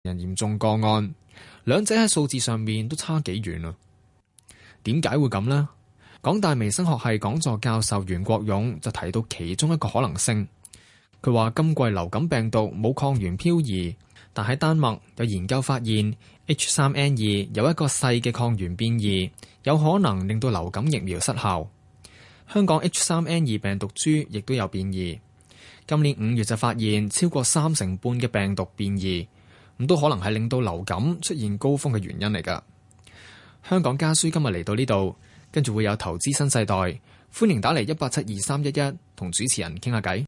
人嚴重個案，兩者喺數字上面都差幾遠啊？點解會咁呢？港大微生學系講座教授袁國勇就提到其中一個可能性。佢話今季流感病毒冇抗原漂移，但喺丹麥有研究發現 H3N2 有一個細嘅抗原變異，有可能令到流感疫苗失效。香港 H3N2 病毒株亦都有變異，今年5月就發現超過30%嘅病毒變異，咁都可能係令到流感出現高峰嘅原因嚟㗎。香港家書今日嚟到呢度。跟住會有投資新世代，歡迎打嚟1872311同主持人傾下偈。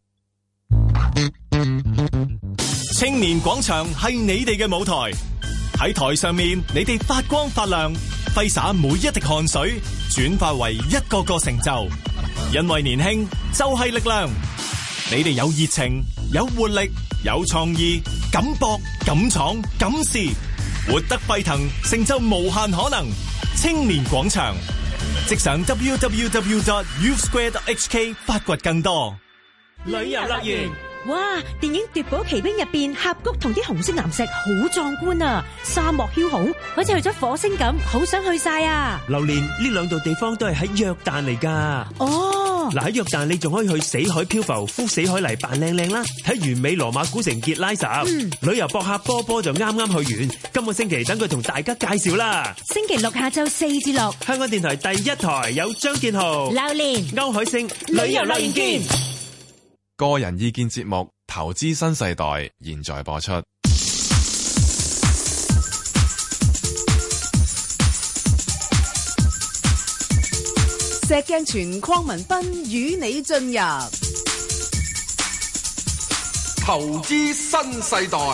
青年廣場係你哋嘅舞台，喺台上面你哋發光發亮，揮灑每一滴汗水，轉化為一個個成就。因為年輕就係力量，你哋有熱情、有活力、有創意，敢搏、敢闖、敢試，活得沸騰，成就無限可能。青年廣場。即上 www.youthsquare.hk 發掘更多旅遊樂園。哇！電影《奪寶奇兵》入邊，峽谷同啲紅色岩石好壯觀啊！沙漠梟雄，好似去咗火星咁，好想去晒啊！ 榴蓮，呢兩度地方都係喺約旦嚟噶。 哦， 嗱，喺約旦你仲可以去死海漂浮，敷死海泥扮靚靚啦，睇完美羅馬古城傑拉什。旅遊博客波波就啱啱去完，今個星期等佢同大家介紹啦。 星期六下晝4至6， 香港電台第一台有張建豪、 榴蓮、 歐海星，旅遊樂園見。 個人意見節目《投資新世代》現在播出。 石鏡泉鄺民彬與你進入《 投資新世代》。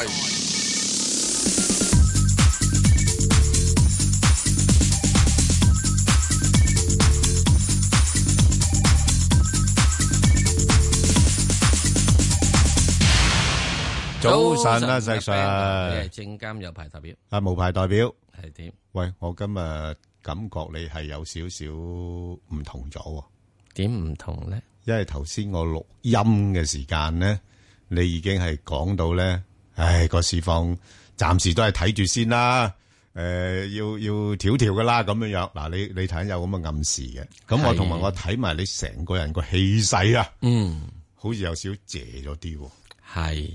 早晨啊，石 Sir， 你係證監有牌代表啊，無牌代表係點？ 喂，我今日感覺你係有少少唔同咗。 點唔同咧？ 因為頭先我錄音嘅時間咧，你已經係講到咧，個市況暫時都係睇住先啦。要調調噶啦，咁樣樣。嗱，你睇下有咁嘅暗示嘅。咁我同埋我睇埋你成個人個氣勢啊，好似有少少謝咗啲。 係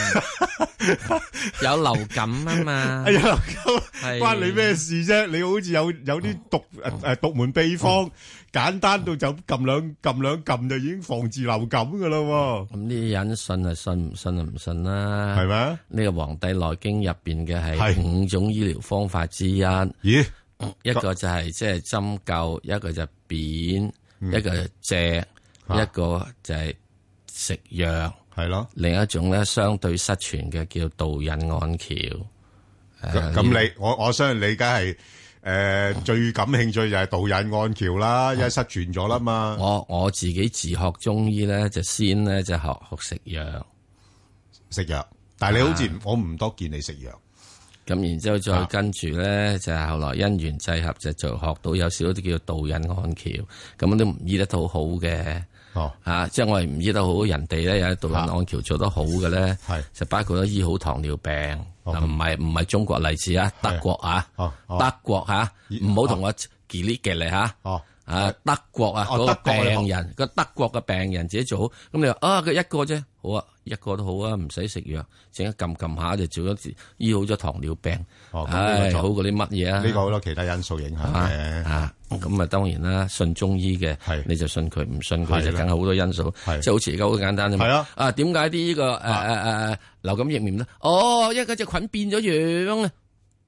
有流感啊嘛， 流感關你咩事啫？你好似有啲獨門秘方，簡單到就撳兩撳就已經防治流感噶啦。 咁呢啲人信啊信，唔信啊唔信啦。係咪？ 呢個《黃帝內經》入邊嘅係5種醫療方法之一。 咦？ 一個就係即係針灸，一個就扁，一個就借，一個就係食藥。 係咯， 另一種咧相對失傳嘅叫導引按橋。 咁我相信你梗係最感興趣就係導引按橋啦，因為失傳咗啦嘛。 我自己自學中醫咧，就先咧就學食藥， 但係你好似我唔多見你食藥。 咁然之後再跟住咧，就係後來因緣際合就學到有少啲叫導引按橋，咁都唔醫得到好嘅。即係我哋唔醫得好，人哋咧有導引按橋做得好嘅咧，就包括咗醫好糖尿病，唔係中國例子啊，德國啊，德國吓，唔好同我吉利吉利吓，德國啊嗰個病人，個德國嘅病人自己做好，咁你話佢一個啫，好啊，一個都好啊，唔使食藥，整一撳下就做咗醫好咗糖尿病，好過啲乜嘢啊？ 呢個好多其他因素影響嘅， 咁啊當然啦，信中醫嘅，你就信佢，唔信佢就梗係好多因素，即係好似而家好簡單啫嘛。點解啲呢個流感疫苗咧？因為嗰隻菌變咗樣啊！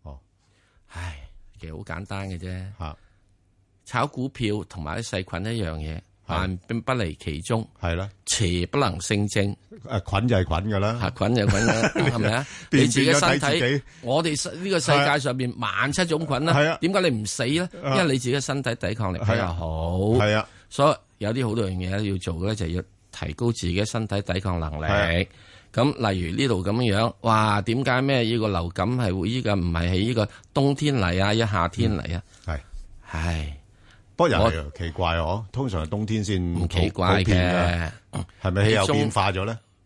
其實好簡單嘅啫。炒股票同埋啲細菌一樣嘢，萬變不離其宗，係啦，邪不能勝正。 菌就係菌噶啦， 菌就係菌啦，係咪啊？你自己身體，我哋呢個世界上邊17000種菌啦，點解你唔死咧？因為你自己嘅身體抵抗力比較好，係啊，所以有啲好多樣嘢要做嘅咧，就要提高自己身體抵抗能力。咁例如呢度咁樣，哇！點解咩呢個流感係會呢個唔係喺呢個冬天嚟啊，一夏天嚟啊？係。 不過又係奇怪，通常係冬天先唔奇怪嘅， 係咪氣候變化咗咧？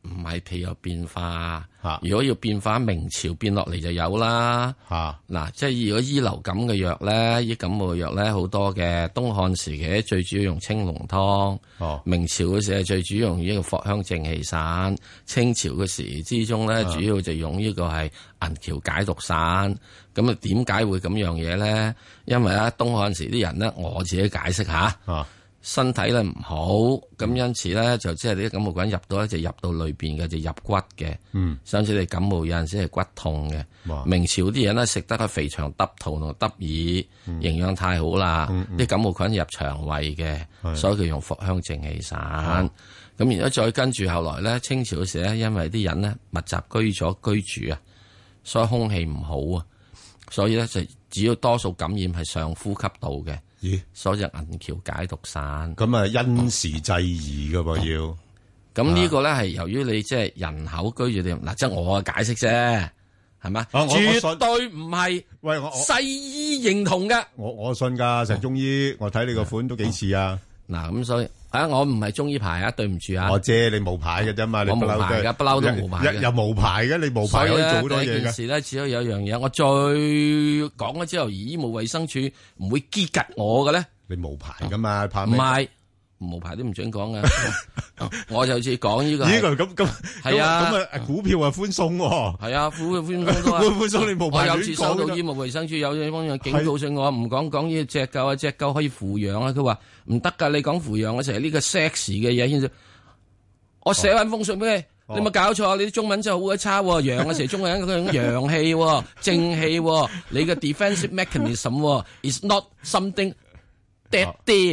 唔係譬有變化。如果要變化，明朝變落嚟就有啦。嗱，即係如果醫流感嘅藥咧，醫感冒嘅藥咧好多嘅。東漢時期最主要用青龍湯。明朝嘅時係最主要用呢個藿香正氣散。清朝嘅時之中咧，主要就用呢個係銀橋解毒散。咁啊，點解會咁樣嘢咧？因為東漢時啲人咧，我自己解釋下。身體咧唔好，咁因此咧就即係啲感冒菌入到咧就入到裏邊嘅，就入骨嘅。甚至你感冒有陣時係骨痛嘅。明朝啲人咧食得個肥腸耷肚同耷耳，營養太好啦，啲感冒菌入腸胃嘅，所以佢用藿香正氣散。咁然後再跟住後來咧，清朝嘅時咧，因為啲人咧密集居住啊，所以空氣唔好啊，所以咧就只要多數感染係上呼吸道嘅。所以就銀橋解毒散，咁啊因時制宜噶噃要。咁呢個咧係由於你即係人口居住點嗱，即係我嘅解釋啫，係嘛？絕對唔係喂我西醫認同嘅。我信噶石中醫，我睇你個款都幾似啊。嗱咁所以我唔係中醫牌啊，對唔住啊。我借你無牌嘅啫嘛，我冇牌噶，不嬲都冇牌嘅。又無牌嘅，你無牌可以做好多嘢嘅。所以呢件事咧，只有一樣嘢，我再講咗之後，醫務衛生署唔會激吉我嘅咧。你無牌噶嘛，怕咩？唔係無牌都唔准講噶。我就似講呢個。咁係啊，咁啊股票啊寬鬆喎。係啊，股票寬鬆都係。寬鬆你無牌亂講。我有次收到醫務衛生署有方樣警告性，我唔講呢隻狗啊，隻狗可以扶養啊。佢話唔得噶，你講扶養嘅時候呢個 sex 嘅嘢先至。我寫翻封信俾你，你咪搞錯，你啲中文真係好鬼差。陽嘅時候中國人嗰種陽氣、正氣，你嘅 defensive mechanism is not something dead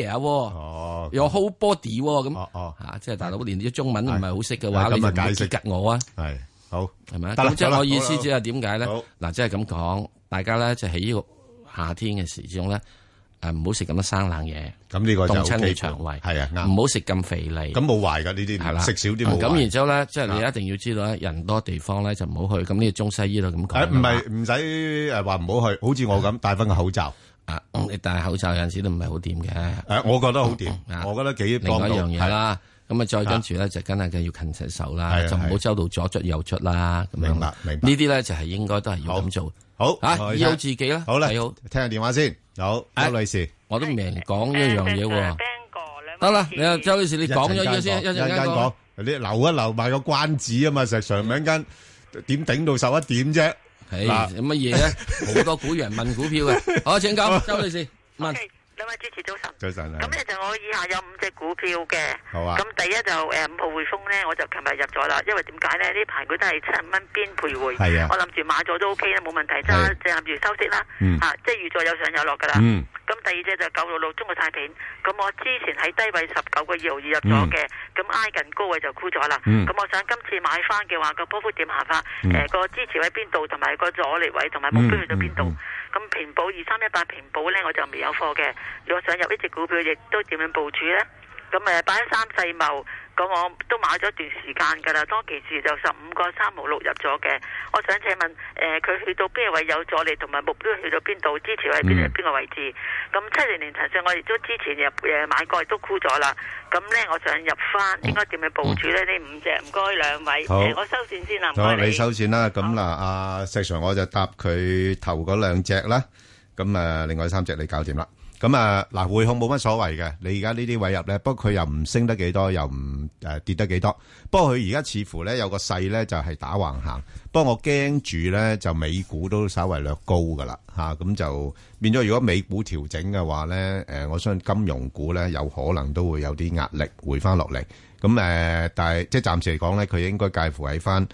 there，有 whole body 咁，即係大佬連啲中文唔係好識嘅話，你就解釋吉我啊。係好係咪？咁即係我意思即係點解咧？嗱，即係咁講，大家咧就喺呢個夏天嘅時之中咧，唔好食咁多生冷嘢。咁呢個就凍親你腸胃係啊，唔好食咁肥膩。咁冇壞噶呢啲，係啦，食少啲冇壞。咁然之後咧，即係你一定要知道咧，人多地方咧就唔好去。咁呢個中西醫都咁講。唔係唔使話唔好去，好似我咁戴翻個口罩。你戴口罩有陣時都唔係好掂嘅。我覺得好掂，我覺得幾幫到。另外一樣嘢啦，咁啊再跟住咧就梗係要勤洗手啦，就唔好周到左捽右捽啦。咁樣明白。呢啲咧就係應該都係要咁做。好醫好自己啦。好啦，好聽下電話先。好，周女士，我都未講一樣嘢喎。得啦，你啊周女士，你講咗嘢先，一陣間講。你留一留埋個關子啊嘛，石上兩間點頂到11點啫？嗱，有乜嘢咧？好多股人問股票嘅，好，請講，周女士問。 兩位主持早晨。 早晨。 咁咧就我以下有5隻股票嘅。 好啊。 咁第一就5號匯豐咧，我就琴日入咗啦，因為點解咧？呢排佢都係7蚊邊徘徊。係啊。我諗住買咗都 OK 啦，冇問題，即係諗住收息啦。即係預咗有上有落噶啦。咁第二隻就966中國太平，咁我之前喺低位19個2毫2入咗嘅，咁挨近高位就沽咗啦。咁我想今次買翻嘅話，個波幅點行法？個支持位邊度，同埋個阻力位，同埋目標去到邊度？咁平保2318平保咧，我就未有貨嘅。如果想入呢隻股票，亦都點樣部署咧？咁83世茂，咁我都買咗一段時間噶啦。當其時就15個3毫6入咗嘅。我想請問，佢去到邊個位有阻力，同埋目標去到邊度？支持位邊個位置？咁70年騰訊我亦都之前買過，亦都沽咗啦。咁咧，我想入翻，應該點樣部署咧？呢5隻，唔該兩位。我收線先啦，唔該你。 你收線啦。咁嗱，阿石 Sir 我就答佢頭嗰2隻啦。咁另外3隻你搞掂啦。咁嗱，匯控冇乜所謂嘅，你而家呢啲位入咧，不過佢又唔升得幾多，又唔跌得幾多。不過佢而家似乎咧有個勢咧就係打橫行。不過我驚住咧就美股都稍微略高噶啦嚇，咁就變咗如果美股調整嘅話咧，我相信金融股咧有可能都會有啲壓力回翻落嚟。咁但係即係暫時嚟講咧，佢應該介乎喺翻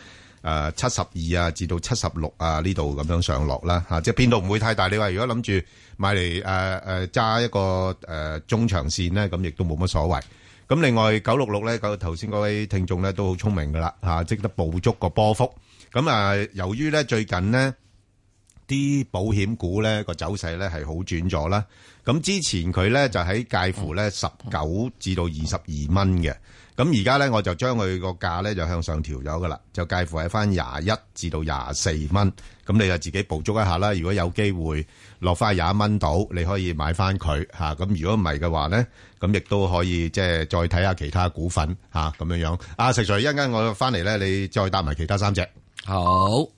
72啊至到76啊呢度咁樣上落啦嚇，即係變動唔會太大。你話如果諗住買嚟揸一個中長線咧，咁亦都冇乜所謂。咁另外966咧，頭先嗰位聽眾咧都好聰明噶啦嚇，識得捕捉個波幅。咁由於咧最近呢啲保險股咧個走勢咧係好轉咗啦。咁之前佢咧就喺介乎咧19至到22蚊嘅。 咁而家咧，我就將佢個價咧就向上調咗噶啦，就介乎喺翻21至到24蚊。咁你就自己捕捉一下啦。如果有機會落翻21蚊度，你可以買翻佢嚇。咁如果唔係嘅話咧，咁亦都可以即係再睇下其他股份嚇咁樣樣。阿石 Sir，一陣間我翻嚟咧，你再搭埋其他3隻。 好。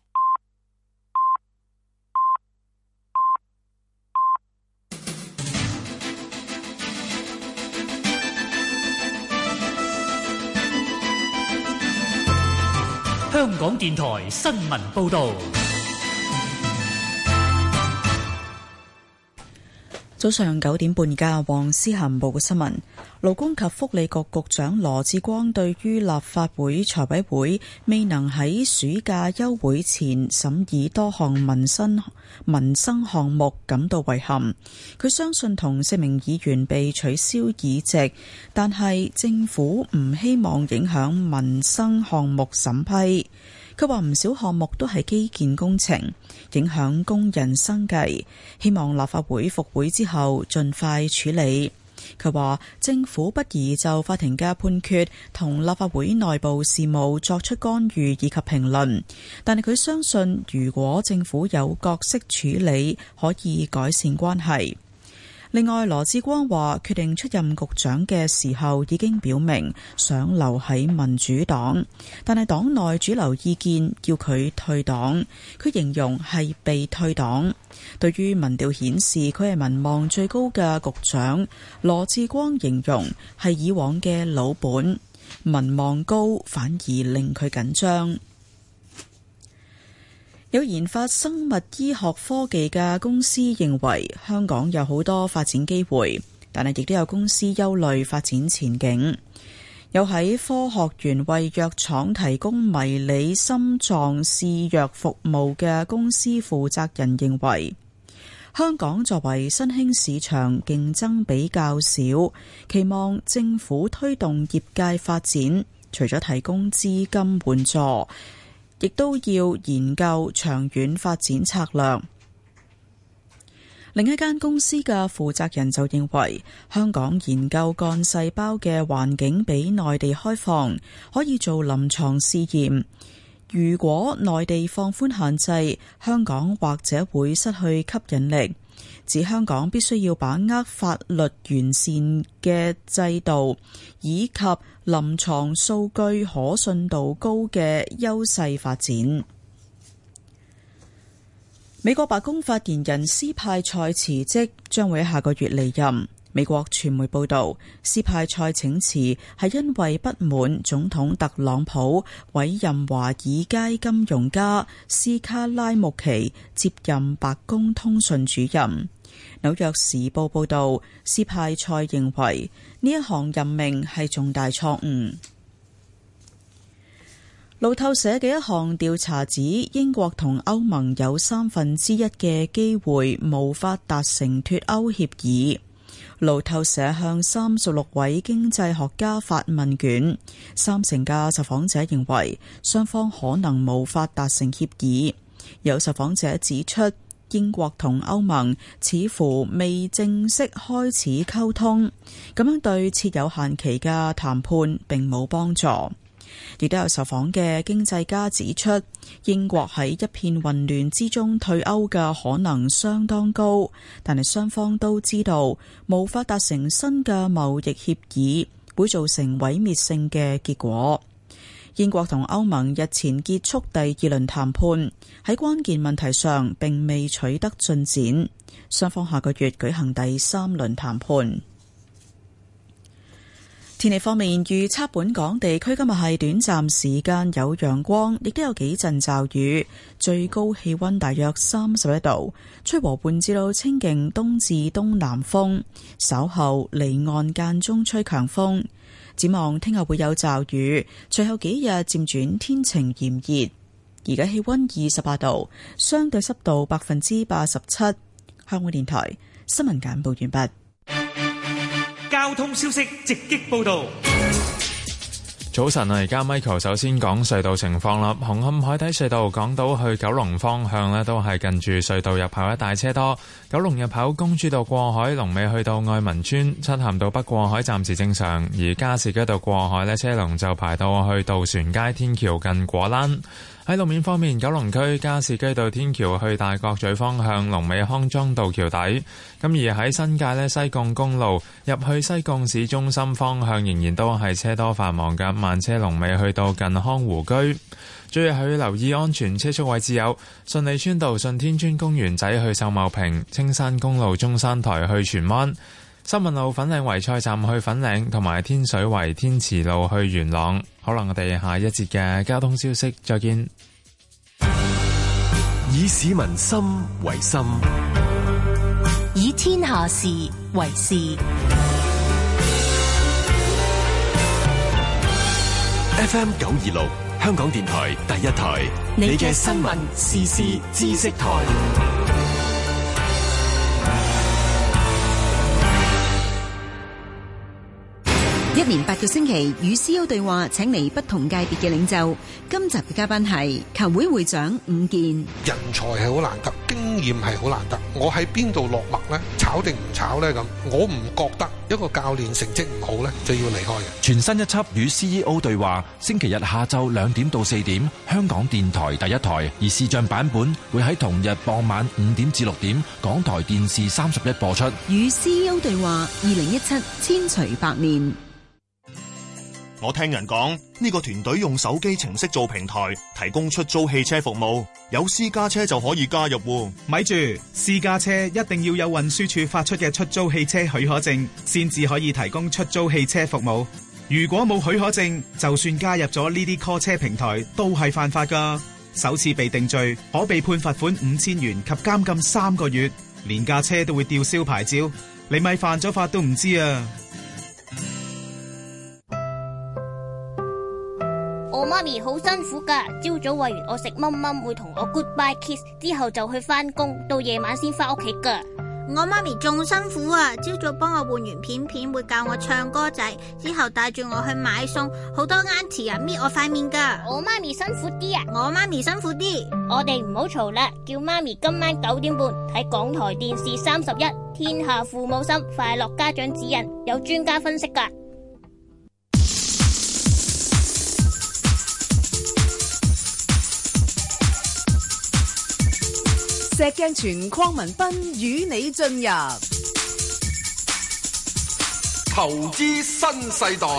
香港電台新聞報導。 早上9點半嘅黃思涵報嘅新聞，勞工及福利局局長羅致光對於立法會財委會未能喺暑假休會前審議多項民生項目感到遺憾。佢相信同4名議員被取消議席，但係政府唔希望影響民生項目審批。佢話唔少項目都係基建工程，影響工人生計，希望立法會復會之後盡快處理。佢話政府不宜就法庭嘅判決同立法會內部事務作出干預以及評論，但係佢相信如果政府有角色處理，可以改善關係。另外，羅致光話決定出任局長嘅時候已經表明想留喺民主黨，但係黨內主流意見叫佢退黨，佢形容係被退黨。對於民調顯示佢係民望最高嘅局長，羅致光形容係以往嘅老本，民望高反而令佢緊張。有研發生物醫學科技嘅公司認為香港有好多發展機會，但係亦都有公司憂慮發展前景。有喺科學園為藥廠提供迷你心臟試藥服務嘅公司負責人認為，香港作為新興市場，競爭比較少，期望政府推動業界發展，除咗提供資金援助，亦都要研究長遠發展策略。另一間公司嘅負責人就認為，香港研究幹細胞嘅環境比內地開放，可以做臨床試驗。如果內地放寬限制，香港或者會失去吸引力。指香港必須要把握法律完善嘅制度，以及臨床數據可信度高嘅優勢發展。美國白宮發言人斯派塞辭職，將會喺下個月離任。美國傳媒報道，斯派塞請辭係因為不滿總統特朗普委任華爾街金融家斯卡拉穆奇接任白宮通訊主任。紐約時報報道，斯派塞認為呢一項任命係重大錯誤。路透社嘅一項調查指，英國同歐盟有1/3嘅機會無法達成脫歐協議。路透社向36位經濟學家發問卷，30%嘅受訪者認為雙方可能無法達成協議。有受訪者指出，英國同歐盟似乎未正式開始溝通，咁樣對設有限期嘅談判並冇幫助。亦都有受訪嘅經濟家指出，英國喺一片混亂之中退歐嘅可能相當高，但係雙方都知道無法達成新嘅貿易協議會造成毀滅性嘅結果。英國同歐盟日前結束第2輪談判，喺關鍵問題上並未取得進展，雙方下個月舉行第3輪談判。天氣方面，預測本港地區今日係短暫時間有陽光，亦都有幾陣驟雨，最高氣溫大約31度，吹和緩至到清勁東至東南風，稍後離岸間中吹強風。展望聽日會有驟雨，隨後幾日漸轉天晴炎熱。而家氣溫28度，相對濕度87%。香港電台新聞簡報完畢。 交通消息直擊報道。 早晨啊，而家 Michael 首先講隧道情況啦。紅磡海底隧道港島去九龍方向呢，都係近住隧道入口一帶車多。九龍入口公主道過海，龍尾去到愛民村；漆咸道北過海暫時正常，而加士居道過海呢，車龍就排到去渡船街天橋近果欄。喺路面方面，九龍區加士居道天橋去大角咀方向，龍尾康莊道橋底。咁而喺新界呢，西貢公路入去西貢市中心方向，仍然都係車多繁忙嘅，慢車龍尾去到近康湖居。最後要留意安全車速位置有順利村道順天村公園仔去秀茂坪、青山公路中山台去荃灣、新聞路粉嶺圍菜站去粉嶺，同埋天水圍天慈路去元朗。可能我哋下一節嘅交通消息再見。 以市民心為心， 以天下事為事。 FM 926香港電台第一台，你嘅新聞時事知識台。 一連8個星期與 CEO 對話，請嚟不同界別嘅領袖。今集嘅嘉賓係球會會長伍健。 人才係好難得，經驗係好難得。我喺邊度落墨呢？炒定唔炒呢？咁我唔覺得一個教練成績唔好呢，就要離開嘅。 全新一輯與 CEO 對話，星期日下晝2點到4點，香港電台第一台，而視像版本會喺同日傍晚5點至6點，港台電視31播出。 與 CEO 對話2017千錘百煉。 我聽人講，呢個團隊用手機程式做平台，提供出租汽車服務，有私家車就可以加入喎。 咪住，私家車一定要有運輸署發出嘅出租汽車許可證，先至可以提供出租汽車服務。如果冇許可證，就算加入咗呢啲 call 車平台，都係犯法㗎。首次被定罪，可被判罰款5000元及監禁3個月，連架車都會吊銷牌照。你咪犯咗法都唔知啊！ 我媽咪好辛苦噶，朝早餵完我食蚊蚊，會同我 goodbye kiss， 之後就去返工，到夜晚先返屋企噶。 我媽咪仲辛苦啊，朝早幫我換完片片，會教我唱歌仔，之後帶住我去買餸，好多 auntie 啊搣我塊面噶。 我媽咪辛苦啲啊， 我媽咪辛苦啲。 我哋唔好嘈啦，叫媽咪今晚9點半睇港台電視31，天下父母心，快樂家長指引，有專家分析噶。 石鏡泉鄺民彬與你進入投資新世代。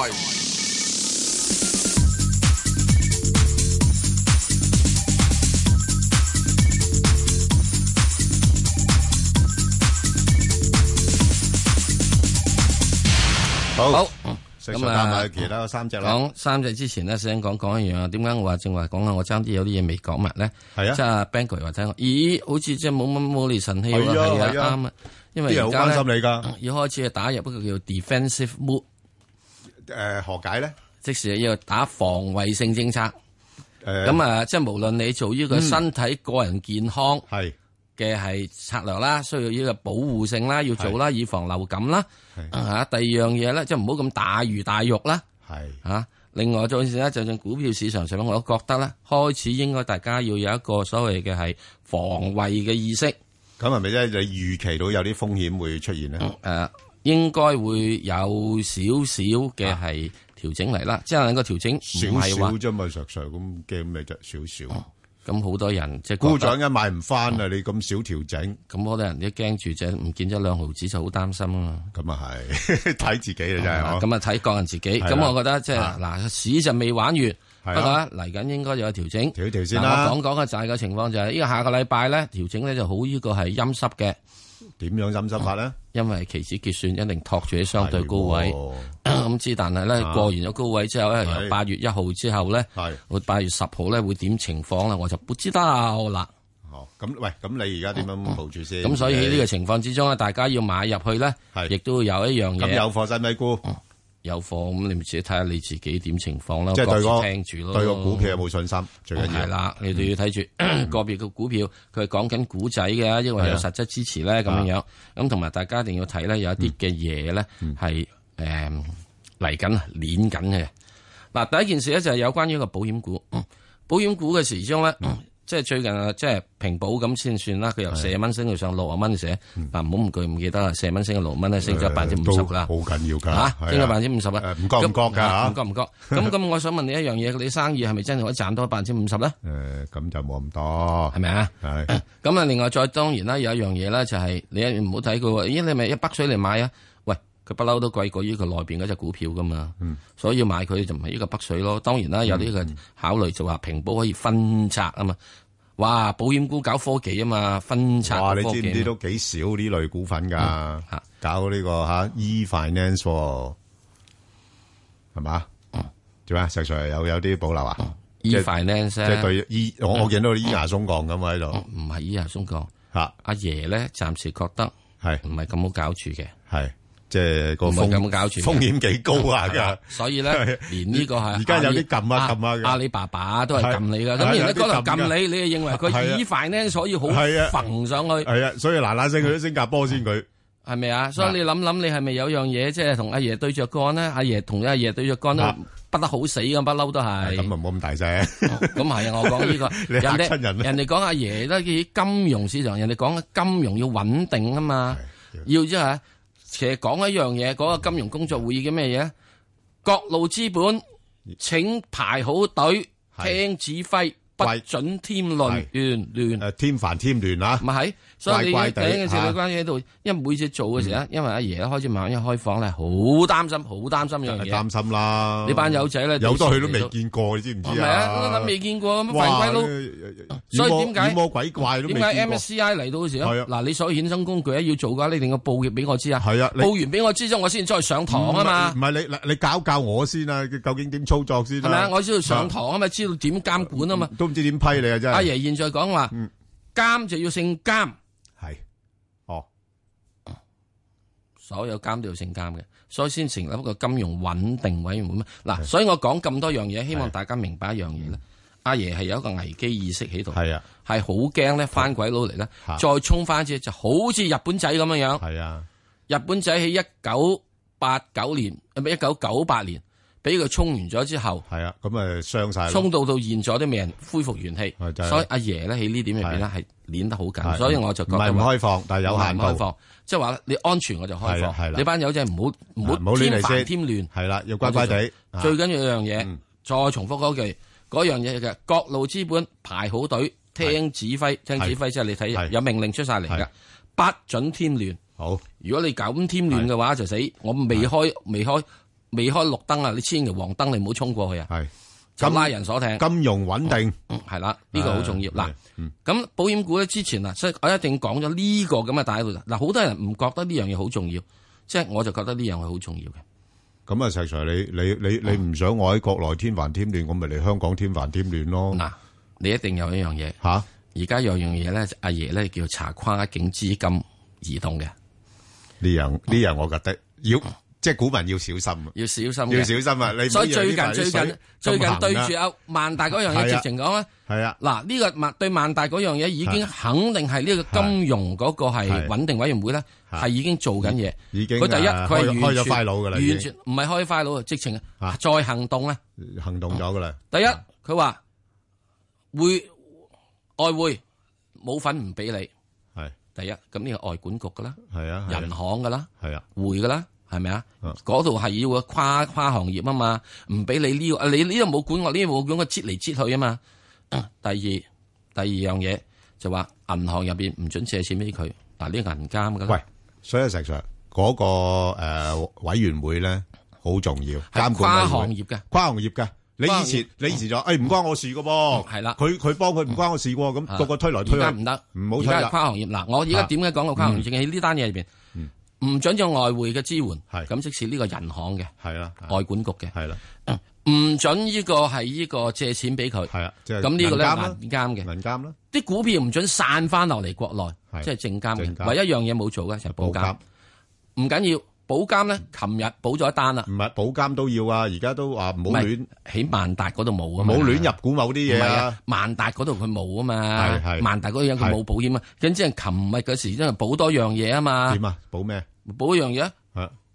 好。咁啊，其他3隻啦。 講3隻之前咧，想講一樣啊。點解我話正話講啊？我爭啲有啲嘢未講埋咧。係啊，即係 Bang 哥話聽，咦，好似即係冇厘神氣喎。係啊，啱啊。因為而家咧，要開始打入一個叫 defensive mode。 何解咧？ 即係要打防衛性政策。咁啊，即係無論你做呢個身體個人健康嘅係策略啦，需要呢個保護性啦，要做啦，以防流感啦。第二樣嘢咧，即係唔好咁大魚大肉啦。另外做時咧，就算股票市場上面，我都覺得咧，開始應該大家要有一個所謂嘅係防衛嘅意識。 咁係咪即係你預期到有啲風險會出現咧？ 應該會有少少嘅係調整嚟啦。即係個調整唔係話少啫嘛，實咁驚咩啫？少少。 咁好多人即係股漲一買唔翻啊！你咁少調整， 咁好多人都驚住啫，唔見咗2毫子就好擔心啊嘛。 咁啊係睇自己啦，真係。 咁啊睇個人自己。咁我覺得即係嗱，市就未玩完，不過嚟緊應該有調整。 調先啦。 我講嘅就係個情況就係呢個下個禮拜咧調整咧就好呢個係陰濕嘅。 點樣陰濕法咧？因為期指結算一定托住喺相對高位，咁之但係咧過完咗高位之後咧，由8月1號之後咧，會8月10號咧會點情況咧，我就不知道啦。 咁喂，咁你而家點樣部署先？ 咁所以喺呢個情況之中咧，大家要買入去咧，亦都有一樣嘢。 咁有貨使咪沽？ 有貨咁，你咪自己睇下你自己點情況啦。 即係對個股票有冇信心？最緊要係啦，你哋要睇住個別嘅股票，佢係講緊股仔嘅，因為有實質支持咧咁樣樣。咁同埋大家一定要睇咧，有一啲嘅嘢咧係嚟緊、攣緊嘅。 嗱，第一件事咧就係有關於一個保險股，保險股嘅時鐘咧，即係最近啊，即係平保咁先算啦。佢由40蚊升到上60蚊寫，嗱唔好唔記得啦，40蚊升到60蚊咧，升咗50%啦， 好緊要㗎嚇，升咗50%啦， 唔覺㗎嚇， 唔覺。咁我想問你一樣嘢，你生意係咪真係可以賺多50%咧？ 咁就冇咁多， 係咪啊？ 係。 咁啊，另外再當然啦，有一樣嘢咧就係你唔好睇佢喎，咦你咪一北水嚟買啊？佢不嬲都貴過呢個內邊嗰隻股票噶嘛，所以要買佢就唔係呢個北水咯。當然啦，有呢個考慮就話平保可以分拆啊嘛。哇，保險股搞科技啊嘛，分拆科技。 哇，你知唔知都幾少呢類股份㗎？搞呢個e-finance 係嘛？做咩？石 Sir 有啲保留啊 ？e-finance 即係對我見到咿牙鬆降咁喺度。 唔係咿牙鬆降嚇，阿爺咧暫時覺得係唔係咁好搞住嘅？ 係。即係個風險幾高啊！ 所以咧，連呢個係而家有啲撳啊阿里巴巴都係撳你噶。咁而家嗰度撳你，你係認為佢以快呢，所以好浮上去。係啊， 所以嗱聲去咗新加坡先佢係咪啊？所以你諗，你係咪有樣嘢即係同阿爺對着幹呢？阿爺同阿爺對着幹都不得好死咁，不嬲都係。咁啊，冇咁大聲。 咁係啊，我講呢個人哋講阿爺咧，金融市場，人哋講金融要穩定啊嘛，要即係。其實講一樣嘢，嗰個金融工作會議嘅咩嘢？各路資本請排好隊，聽指揮，不准添亂，亂添煩添亂啊！ 咪係，所以你第一件事你關於喺度，因為每次做嘅時候，因為阿爺開始慢慢一開放咧，好擔心呢樣嘢。 擔心啦！ 呢班友仔咧， 有多佢都未見過，你知唔知啊？ 係啊，未見過咁犯規佬。所以點解魔鬼怪都未見過？ 點解 MSCI 嚟到嘅時候，嗱你所有衍生工具要做嘅，你一定要報業俾我知啊！ 係啊， 報完俾我知之後，我先再上堂啊嘛。 唔係你教我先啊！究竟點操作先？ 係咪啊？我知道上堂啊嘛，知道點監管啊嘛。 都唔知點批你啊！真係。 阿爺現在講話，監就要姓監。 係。 所有監都要姓監嘅，所以先成立一個金融穩定委員會。嗱，所以我講咁多樣嘢，希望大家明白一樣嘢咧。阿爺係有一個危機意識喺度，係啊，係好驚咧翻鬼佬嚟咧，再衝翻一次就好似日本仔咁樣樣。係啊，日本仔喺1989年，唔係1998年，俾佢衝完咗之後， 係啊，咁啊傷晒， 衝到現在都未人恢復元氣。所以阿爺咧喺呢點入邊咧係捏得好緊，所以我就覺得唔開放，但係有限開放，即係話你安全我就開放。你班友仔唔好添煩添亂， 係啦，要乖乖地。 最緊要一樣嘢，再重複嗰句。嗰樣嘢嘅各路資本排好隊，聽指揮，即係你睇有命令出晒嚟㗎，不准添亂。 好， 如果你咁添亂嘅話就死。我未開綠燈啊！你千祈黃燈你唔好衝過去啊！係，咁拉人鎖艇， 金融穩定係啦，呢個好重要嗱。咁保險股咧之前啊，所以我一定講咗呢個咁嘅大喺度嗱，好多人唔覺得呢樣嘢好重要，即係我就覺得呢樣係好重要嘅。 咁啊，石 Sir，你唔想我喺國內添煩添亂，我咪嚟香港添煩添亂咯。嗱， 你一定有一樣嘢吓， 而家有樣嘢咧，阿爺咧叫查跨境資金移動嘅。呢樣我覺得要即係股民要小心， 要小心啊！你所以最近對住阿萬大嗰樣嘢，直情講咧， 係啊， 嗱呢個對萬大嗰樣嘢已經肯定係呢個金融嗰個係穩定委員會咧，係已經做緊嘢。已經佢第一佢係開咗快佬噶啦， 完全唔係開快佬，直情再行動咧， 行動咗噶啦。 第一佢話外匯冇份唔俾你，係第一咁呢個外管局噶啦，係啊，銀行噶啦，係啊，匯噶啦。係咪啊？嗰度係要跨行業啊嘛，唔俾你呢個，你呢度冇管我，呢度冇管我，擠嚟擠去啊嘛。第二樣嘢就話銀行入邊唔准借錢俾佢，嗱呢個銀監噶啦。喂， 所以石 Sir 嗰個委員會咧好重要，監管跨行業嘅， 跨行業嘅。你以前就唔關我事噶噃， 係啦， 佢幫佢唔關我事喎，咁個個推來推去， 而家唔得， 唔好推啦。 跨行業嗱，我而家點解講個跨行業？喺呢單嘢入邊。唔准有外匯嘅支援，咁即是呢個銀行嘅，係啦，外管局嘅，係啦，唔准呢個係呢個借錢俾佢，係啊，咁呢個咧銀監嘅， 銀監啦， 啲股票唔准散翻落嚟國內，即係證監嘅，唯一樣嘢冇做嘅就係保監，唔緊要，保監咧，琴日補咗一單啦， 唔係保監都要啊，而家都話唔好亂喺萬達嗰度冇啊嘛， 冇亂入股某啲嘢啊， 萬達嗰度佢冇啊嘛，係萬達嗰樣佢冇保險啊，咁即係琴日嗰時真係補多樣嘢啊嘛， 點啊？補咩？ 補一樣嘢，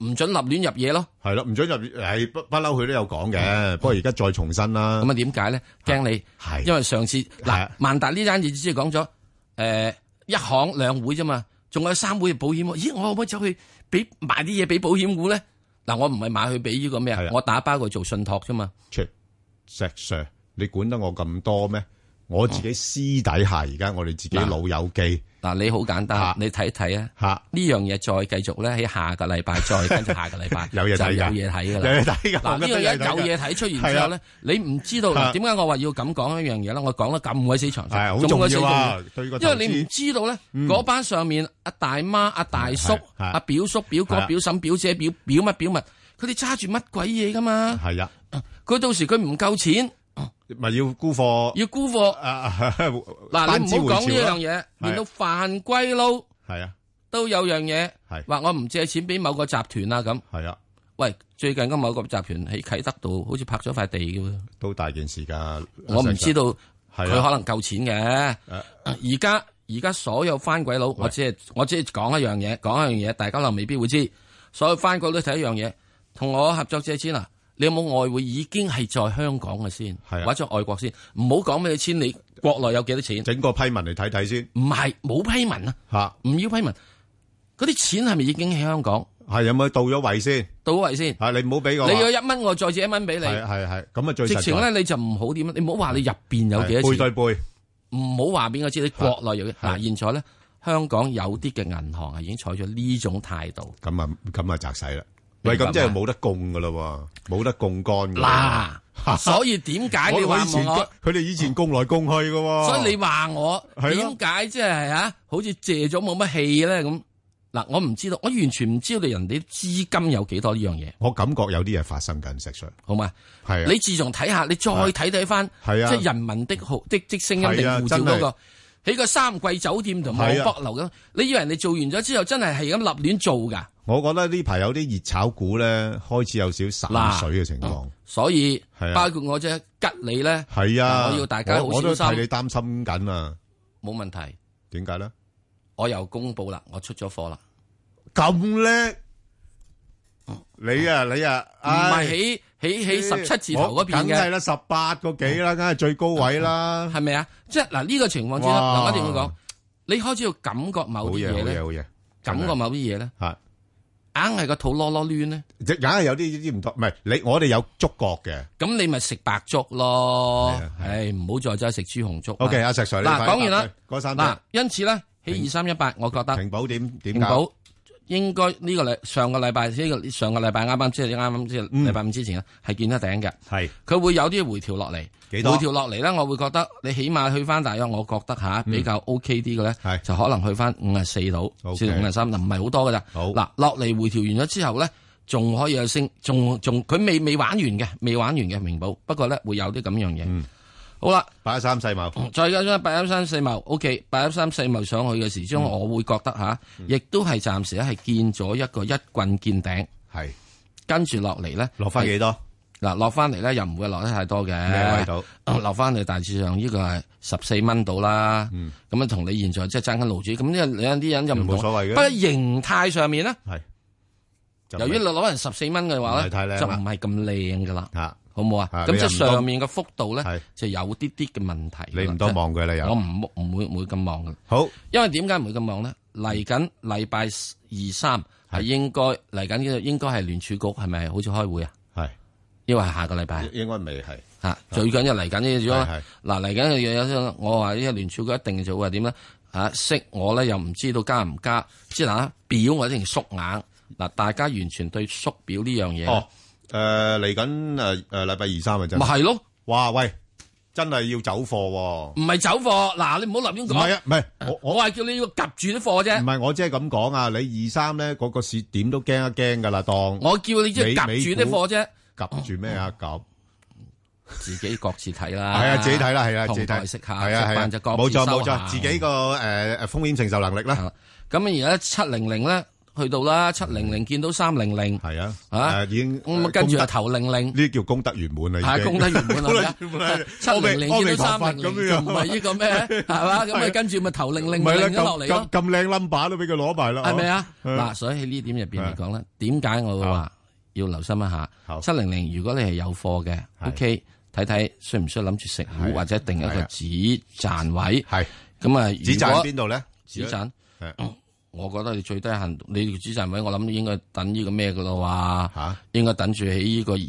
唔准立亂入嘢咯。 係咯，唔准入係不嬲，佢都有講嘅。不過而家再重申啦。 咁啊點解咧？驚你係因為上次嗱萬達呢單嘢只係講咗一行兩會啫嘛，仲有3會保險。咦，我可唔可以走去買啲嘢俾保險股咧？嗱，我唔係買去俾呢個咩啊？我打包佢做信託啫嘛。石 Sir， 你管得我咁多咩？我自己私底下而家我哋自己老友記。 嗱，你好簡單，你睇睇啊。呢樣嘢再繼續咧，喺下個禮拜再跟住下個禮拜有嘢睇㗎， 有嘢睇㗎啦。 有嘢睇㗎。 嗱，呢樣嘢有嘢睇出現之後咧，你唔知道點解我話要咁講一樣嘢咧？我講得咁鬼死詳細， 係好重要啊！ 因為你唔知道咧，嗰班上面阿大媽、阿大叔、阿表叔、表哥、表嬸、表姐、表乜表物，佢哋揸住乜鬼嘢㗎嘛？係啊，佢到時佢唔夠錢。 咪要沽貨， 要沽貨。嗱，你唔好講呢樣嘢，連到番鬼佬係啊， 都有樣嘢，話我唔借錢俾某個集團啊咁。 係啊， 喂，最近嗰某個集團喺啟德度好似拍咗塊地嘅喎， 都大件事噶。 我唔知道佢可能夠錢嘅。而家所有番鬼佬，我只係講一樣嘢，大家可能未必會知。所有番鬼佬都睇一樣嘢，同我合作借錢啊！你有冇外匯已經係在香港嘅先，或者外國先？唔好講俾你錢，你國內有幾多錢？ 整個批文嚟睇睇先。 唔係冇批文啊，唔要批文。嗰啲錢係咪已經喺香港？ 係有冇到咗位先？ 到咗位先。 係你唔好俾我。 你有1蚊，我再借1蚊俾你。 係咁啊最實在。 直情咧你就唔好點，你唔好話你入邊有幾多錢。 背對背。 唔好話俾我知你國內有嘅。嗱，現在咧香港有啲嘅銀行係已經採取呢種態度。 咁啊砸死啦！喂，咁即係冇得供噶啦，冇得槓桿噶。 嗱，所以點解你話佢哋以前供來供去噶？ 所以你話我點解即係好似借咗冇乜氣咧咁？嗱，我唔知道，我完全唔知道人哋資金有幾多呢樣嘢。 我感覺有啲嘢發生緊，石 Sir。 好嘛？ 係。你自從睇下，你再睇翻，即係人民的聲音定護照嗰個，喺個三季酒店同埋博樓咁，你以為人哋做完咗之後，真係咁立亂做噶？ 我覺得呢排有啲熱炒股咧，開始有少少散水嘅情況。 所以包括我隻吉利咧， 係啊， 我要大家好小心。 我都替你擔心緊啊。 冇問題。 點解咧？ 我又公布啦，我出咗貨啦。 咁叻？你啊， 唔係喺17字頭嗰邊嘅， 梗係啦，18個幾啦，梗係最高位啦， 係咪啊？即係嗱呢個情況之下，嗱我一定要講，你開始要感覺某啲嘢咧， 好嘢， 感覺某啲嘢咧，硬係個肚囉囉攣咧， 硬係有啲唔妥，唔係我哋有觸覺嘅， 咁你咪食白粥咯，唔好再食豬紅粥。 OK，阿石 Sir， 嗱講完啦， 嗱， 因此咧喺2318，我覺得平保點平保應該呢個上個禮拜即係禮拜5之前咧係見得頂嘅，係佢會有啲回調落嚟，回調落嚟咧，我會覺得你起碼去翻大約，我覺得比較 OK 啲嘅咧，就可能去翻54度，至到53，唔係好多噶咋。嗱落嚟回調完咗之後咧，仲可以有升，仲佢未玩完嘅明保，不過咧會有啲咁樣嘢。好啦 ，813世貿， 再加上813世貿 ，OK，813世貿上去嘅時鐘，我會覺得亦都係暫時咧係見咗一個一棍見頂，係跟住落嚟咧， 落翻幾多？ 嗱，落翻嚟咧又唔會落得太多嘅， 咩位度？ 落翻嚟大致上呢個係14蚊到啦，咁同你現在即係爭緊路主，咁呢兩啲人就唔同， 冇所謂嘅。 不過形態上面咧， 係由於攞人14蚊嘅話咧，就唔係咁靚噶啦。好冇啊？咁即係上面嘅幅度咧，就有啲啲嘅問題。 你唔多望佢啦，又我唔會咁望嘅。 好， 因為點解唔會咁望咧？嚟緊禮拜2、3係應該嚟緊呢個應該係聯儲局係咪好似開會啊？係，因為係下個禮拜。應該未係嚇，最緊要嚟緊呢個嗱嚟緊嘅嘢，我話呢個聯儲局一定就會話點咧？息我咧又唔知道加唔加，即係表我一定縮硬嗱，大家完全對縮表呢樣嘢。 嚟緊禮拜2、3啊，真咪係咯？ 哇喂，真係要走貨喎！ 唔係走貨，嗱你唔好立亂講。 唔係啊，唔係我係叫你要夾住啲貨啫。 唔係我即係咁講啊！你2、3咧嗰個市點都驚一驚噶啦，當我叫你即係夾住啲貨啫。 夾住咩啊？夾自己各自睇啦。 係啊，自己睇啦，係啊，自己睇。 食下，食飯就各自收下。 冇錯，自己個風險承受能力啦。 咁而家700咧。 去到啦，700見到300， 係啊，已經咁跟住就頭00， 呢啲叫功德圓滿啦， 係功德圓滿啦，700見到300就唔係呢個咩，係嘛？咁啊跟住咪頭00咗落嚟咯， 咁靚 number 都俾佢攞埋啦， 係咪啊？嗱，所以喺呢點入邊嚟講咧，點解我會話要留心一下700？如果你係有貨嘅 ，OK， 睇睇需唔需要諗住食糊或者定一個止賺位，係咁啊？ 止賺邊度咧？ 止賺。我覺得你最低限度，你止賺位，我諗應該等呢個咩噶咯？哇，應該等住喺呢個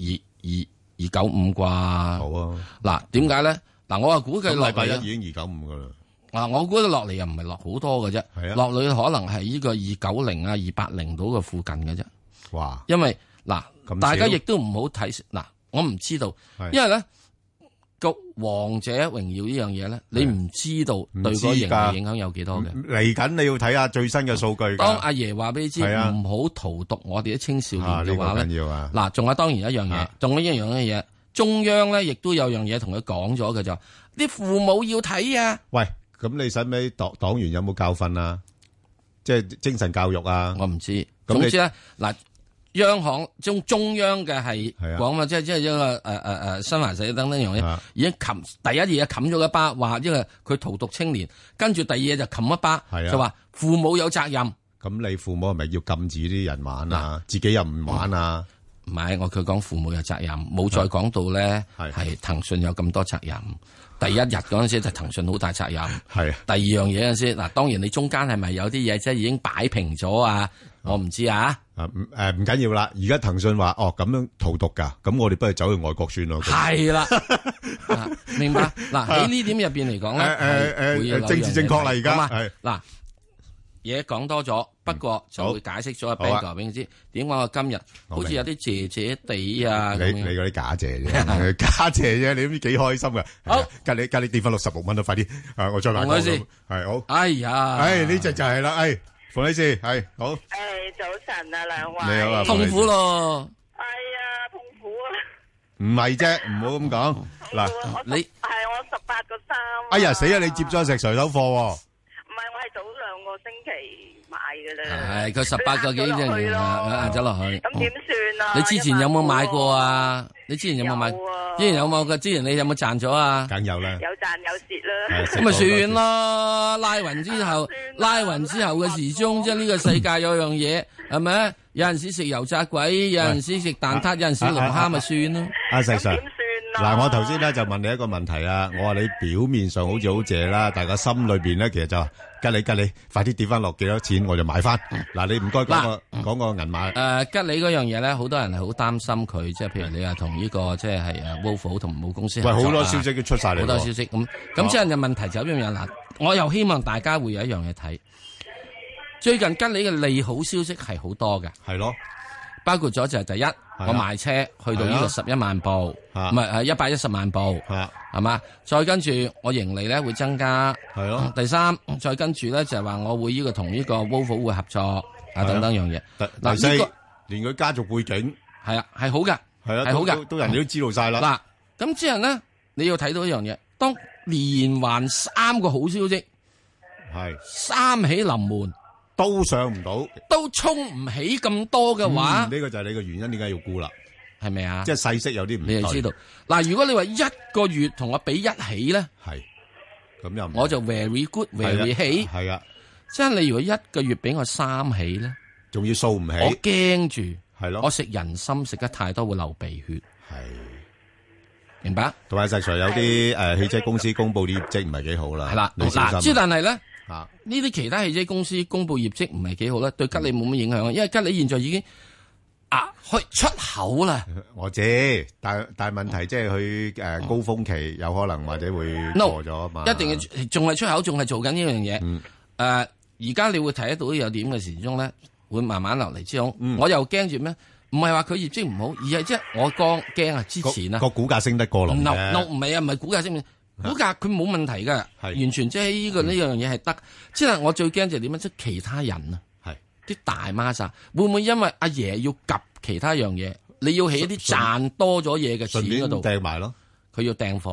295啩。好啊。嗱，點解咧？嗱，我話估計落嚟禮拜一已經295噶啦。 嗱，我估計落嚟又唔係落好多嘅啫。係啊。落嚟可能係呢個290啊、280到嘅附近嘅啫。哇！因為嗱，大家亦都唔好睇嗱，我唔知道，因為咧。個王者榮耀呢樣嘢咧，你唔知道對個盈利影響有幾多嘅。 嚟緊你要睇下最新嘅數據。 當阿爺話俾你知，唔好荼毒我哋啲青少年嘅話咧，嗱，仲有當然一樣嘢，仲有一樣嘅嘢，中央咧亦都有樣嘢同佢講咗嘅就，啲父母要睇啊。喂， 咁你使唔使黨員有冇教訓啊？即係精神教育啊？ 我唔知。總之咧，嗱。央行中央嘅係講嘛，即係一個新華社等等樣嘢，已經第一嘢冚咗一巴，話因為佢荼毒青年，跟住第二嘢就冚一巴，就話父母有責任。 咁你父母係咪要禁止啲人玩啊？自己又唔玩啊？ 唔係，佢講父母有責任，冇再講到咧係騰訊有咁多責任。第一日嗰陣時就騰訊好大責任。係。第二樣嘢嗰陣時，嗱，當然你中間係咪有啲嘢即係已經擺平咗啊？我唔知啊。 唔緊要啦。而家騰訊話咁樣荼毒噶，咁我哋不如走去外國算咯。係啦。 明白。嗱，喺呢點入邊嚟講咧， 政治正確啦，而家係嗱。嘢講多咗，不過就會解釋咗阿 Ben 哥俾你知點解我今日好似有啲謝謝地啊！ 你嗰啲假謝啫，假謝啫，你都知幾開心噶。好，隔你跌翻66蚊都快啲，我再買多啲。係好。哎呀，呢隻就係啦，馮女士係好。 早晨啊，兩位。 你好啊， 痛苦咯。 哎呀，痛苦啊！ 唔係啫，唔好咁講。嗱， 你係我18個3。 哎呀，死啊！你接咗石錘手貨。 唔係，我係早2個星期買嘅啦。 係佢18個幾啫，壓咗落去。 咁點算啊？ 你之前有冇買過啊？你之前有冇買？之前有冇嘅？之前你有冇賺咗啊？ 梗有啦。 有賺有蝕啦。 咁咪算咯，拉勻之後嘅時鐘，即係呢個世界有樣嘢係咪？有陣時食油炸鬼，有陣時食蛋撻，有陣時龍蝦咪算咯。 阿石 Sir。嗱，我頭先咧就問你一個問題啊，我話你表面上好似好謝啦，但係個心裏邊咧其實就吉你，快啲跌翻落幾多錢我就買翻。嗱，你唔該講個銀碼。 吉利嗰樣嘢咧，好多人係好擔心佢，即係譬如你話同呢個即係Volvo 同母公司合作。 喂，好多消息都出晒嚟。 好多消息咁即係問題就一樣嘢嗱，我又希望大家會有一樣嘢睇。最近吉利嘅利好消息係好多嘅。係咯。包括咗就係第一，我賣車去到呢個11萬部，唔係110萬部，係嘛？再跟住我盈利咧會增加，係咯。第三，再跟住咧就係話我會呢個同呢個 Volvo 會合作啊等等樣嘢。 第四，連佢家族背景係啊係好嘅，係好嘅， 都人哋都知道晒啦。 嗱，咁之後咧你要睇到一樣嘢，當連環3個好消息，係三喜臨門。 都上唔到， 都衝唔起咁多嘅話， 呢個就係你嘅原因，點解要沽啦？ 係咪啊？ 即係細息有啲唔， 你就知道。嗱，如果你話1個月同我比1起咧， 係咁又我就 very good，very 起， 係啊。 即係你如果1個月俾我3起咧， 仲要掃唔起， 我驚住係咯。 我食人參食得太多會流鼻血， 係明白？ 同埋實在有啲汽車公司公布啲業績唔係幾好啦。係啦， 嗱，之但係咧。呢啲其他汽車公司公布業績唔係幾好咧，對吉利冇乜影響，因為吉利現在已經去出口啦。 我知，但係問題即係佢高峰期有可能或者會過咗嘛。 一定要仲係出口，仲係做緊呢樣嘢。而家你會睇得到有點嘅時鐘咧，會慢慢落嚟之後，我又驚住咩？唔係話佢業績唔好，而係即係我驚啊！之前啊個股價升得過龍嘅， 唔係啊，唔係股價升。股價佢冇問題噶，完全即係呢樣嘢係得。即係我最驚就係點樣？即係其他人啊，啲大孖沙會唔會因為阿爺要及其他樣嘢，你要起一啲賺多咗嘢嘅錢嗰度掟埋咯？ 佢要掟貨，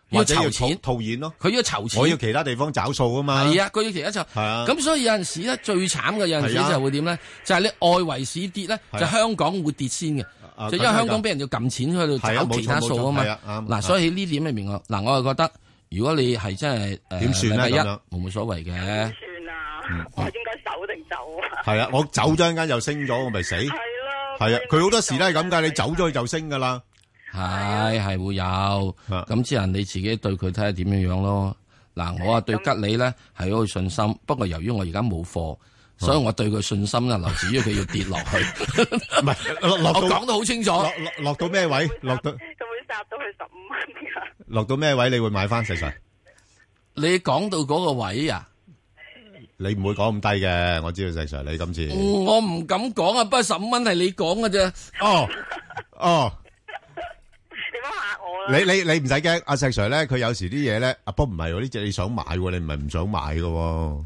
或者要錢套現咯。 佢要籌錢， 我要其他地方找數啊嘛。 係啊，佢要其他就係啊。咁所以有陣時咧，最慘嘅有陣時就會點咧？就係你外圍市跌咧，就香港會跌先嘅。就因為香港俾人要撳錢去度找其他數啊嘛。嗱，所以喺呢點裏面我係覺得，如果你係真係點算咧？ 冇所謂嘅。 點算啊？我應該走定走啊？ 係啊，我走咗陣間又升咗，我咪死。係咯。係啊，佢好多時都係咁噶，你走咗就升噶啦。 係會有，咁之後你自己對佢睇下點樣樣咯。嗱，我對吉利咧係好有信心，不過由於我而家冇貨，所以我對佢信心咧，來自於佢要跌落去。 唔係落到， 我講得好清楚。 落到咩位？落到佢會殺到去15蚊噶。 落到咩位？你會買翻石 Sir？ 你講到嗰個位啊？ 你唔會講咁低嘅，我知道石 Sir 你今次。 我唔敢講啊，不過15蚊係你講嘅啫。 哦。 你唔使驚，阿石 Sir 咧，佢有時啲嘢咧，不過唔係喎，呢隻你想買喎，你唔係唔想買嘅喎，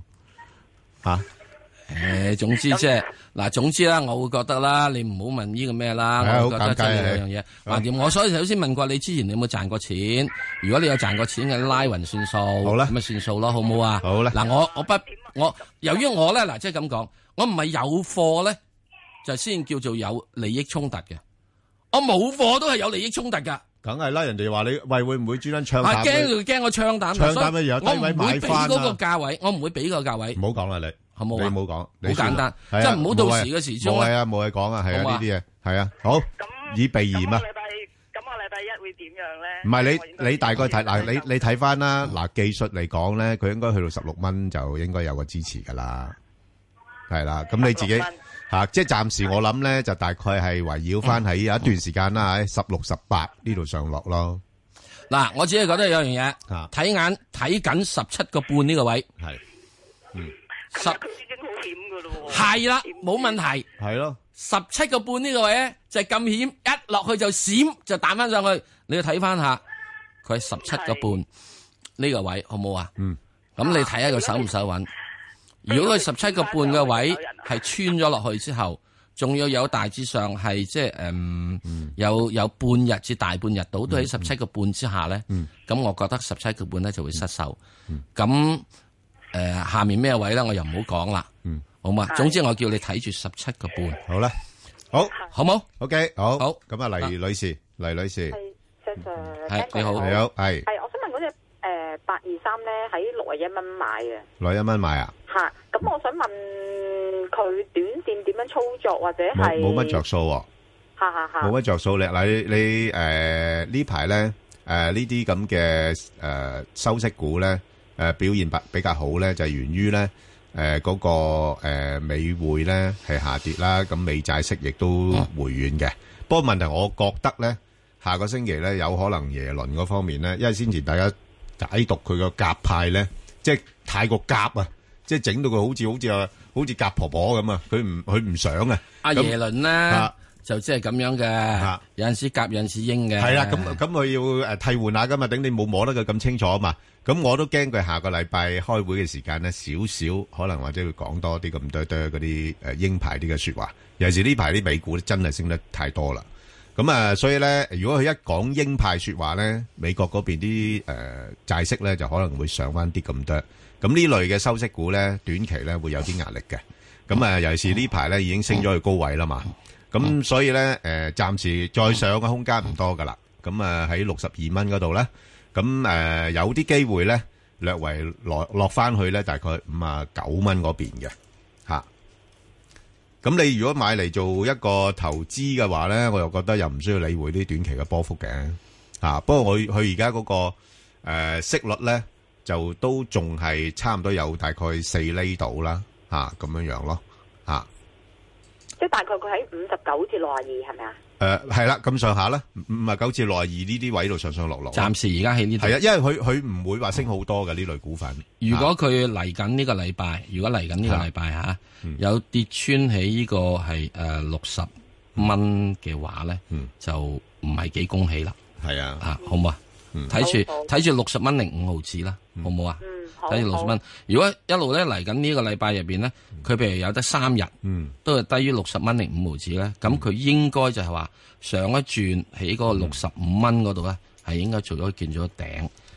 吓？ 總之即係嗱，總之啦，我會覺得啦，你唔好問呢個咩啦，我覺得真係兩樣嘢。橫掂，我所以首先問過你之前你有冇賺過錢？如果你有賺過錢嘅，拉勻算數，好啦，咁咪算數咯，好唔好啊？ 好啦， 嗱，我由於我咧嗱，即係咁講，我唔係有貨咧，就先叫做有利益衝突嘅，我冇貨都係有利益衝突噶。 梗係啦，人哋話你喂會唔會專登唱淡？ 驚我唱淡， 唱淡乜嘢？低位買翻啦！ 我唔會俾嗰個價位，我唔會俾個價位。 唔好講啦，你好冇？ 你唔好講， 好簡單，即係唔好到時嘅時鐘。 冇係啊，冇嘢講啊，係啊，呢啲嘢係啊，好以避嫌啊。 咁我禮拜一會點樣咧？ 唔係你大概睇嗱，你睇翻啦嗱，技術嚟講咧，佢應該去到16蚊就應該有個支持噶啦，係啦。咁你自己。即係暫時我諗咧，就大概係圍繞翻喺有一段時間啦，喺16、18呢度上落咯。 嗱，我只係覺得有樣嘢，睇緊17個半呢個位， 係， 佢已經好險噶咯喎。 係啦，冇問題。 係咯 ，17個半呢個位咧就係咁險，一落去就閃就彈翻上去。你要睇翻下，佢係17個半呢個位，好唔好啊？咁你睇下佢守唔守穩？如果佢17個半嘅位係穿咗落去之後，仲要有大致上係即係有半日至大半日到都喺17個半之下咧，咁我覺得17個半咧就會失守。咁下面咩位咧我又唔好講啦，好嘛？總之我叫你睇住17個半， 好啦，好冇 ？OK，好，咁啊，黎女士， 係你好， 你好，係， 我想問嗰隻823咧喺61蚊買嘅 ，61蚊買啊？ 吓，咁我想問佢短線點樣操作，或者係冇乜着數喎，冇乜着數咧。嗱，你呢排咧呢啲咁嘅收息股咧表現比較好咧，就係源於咧嗰個美匯咧係下跌啦，咁美債息亦都回軟嘅。不過問題，我覺得咧下個星期咧有可能耶倫嗰方面咧，因為先前大家解讀佢個鴿派咧，即係太過鴿啊！即係整到佢好似鴿婆婆咁啊！佢唔想啊！ 阿耶倫咧就即係咁樣嘅，有陣時鴿有陣時鷹嘅。 係啦，咁佢要替換下噶嘛，等你冇摸得佢咁清楚啊嘛。咁我都驚佢下個禮拜開會嘅時間咧，少少可能或者會講多啲咁多嗰啲鷹派啲嘅説話。尤其是呢排啲美股真係升得太多啦。咁所以咧，如果佢一講鷹派説話咧，美國嗰邊啲債息咧就可能會上翻啲咁多。咁呢類嘅收息股咧，短期咧會有啲壓力嘅。咁尤其是呢排咧已經升咗去高位啦嘛。咁所以咧暫時再上嘅空間唔多噶啦。咁喺62蚊嗰度咧，咁有啲機會咧略為落翻去咧，大概59蚊嗰邊嘅嚇。咁你如果買嚟做一個投資嘅話咧，我又覺得又唔需要理會啲短期嘅波幅嘅嚇。不過佢而家嗰個息率咧，就都仲係差唔多有大概4厘度啦，咁樣樣咯， 即係大概佢喺59至62係咪啊？ 係啦，咁上下啦，59至62呢啲位度上上落落。 暫時而家喺呢度。係啊，因為佢唔會話升好多嘅呢類股份。 如果佢嚟緊呢個禮拜，有跌穿喺呢個係60蚊嘅話咧，就唔係幾恭喜啦。 係啊， 好唔好啊？睇住60蚊0.5毫子啦，好唔好啊？睇住60蚊。如果一路咧嚟緊呢個禮拜入邊咧，佢譬如有得3日，都係低於60蚊0.5毫子咧，咁佢應該就係話上一轉喺嗰個65蚊嗰度咧，係應該做咗見咗頂。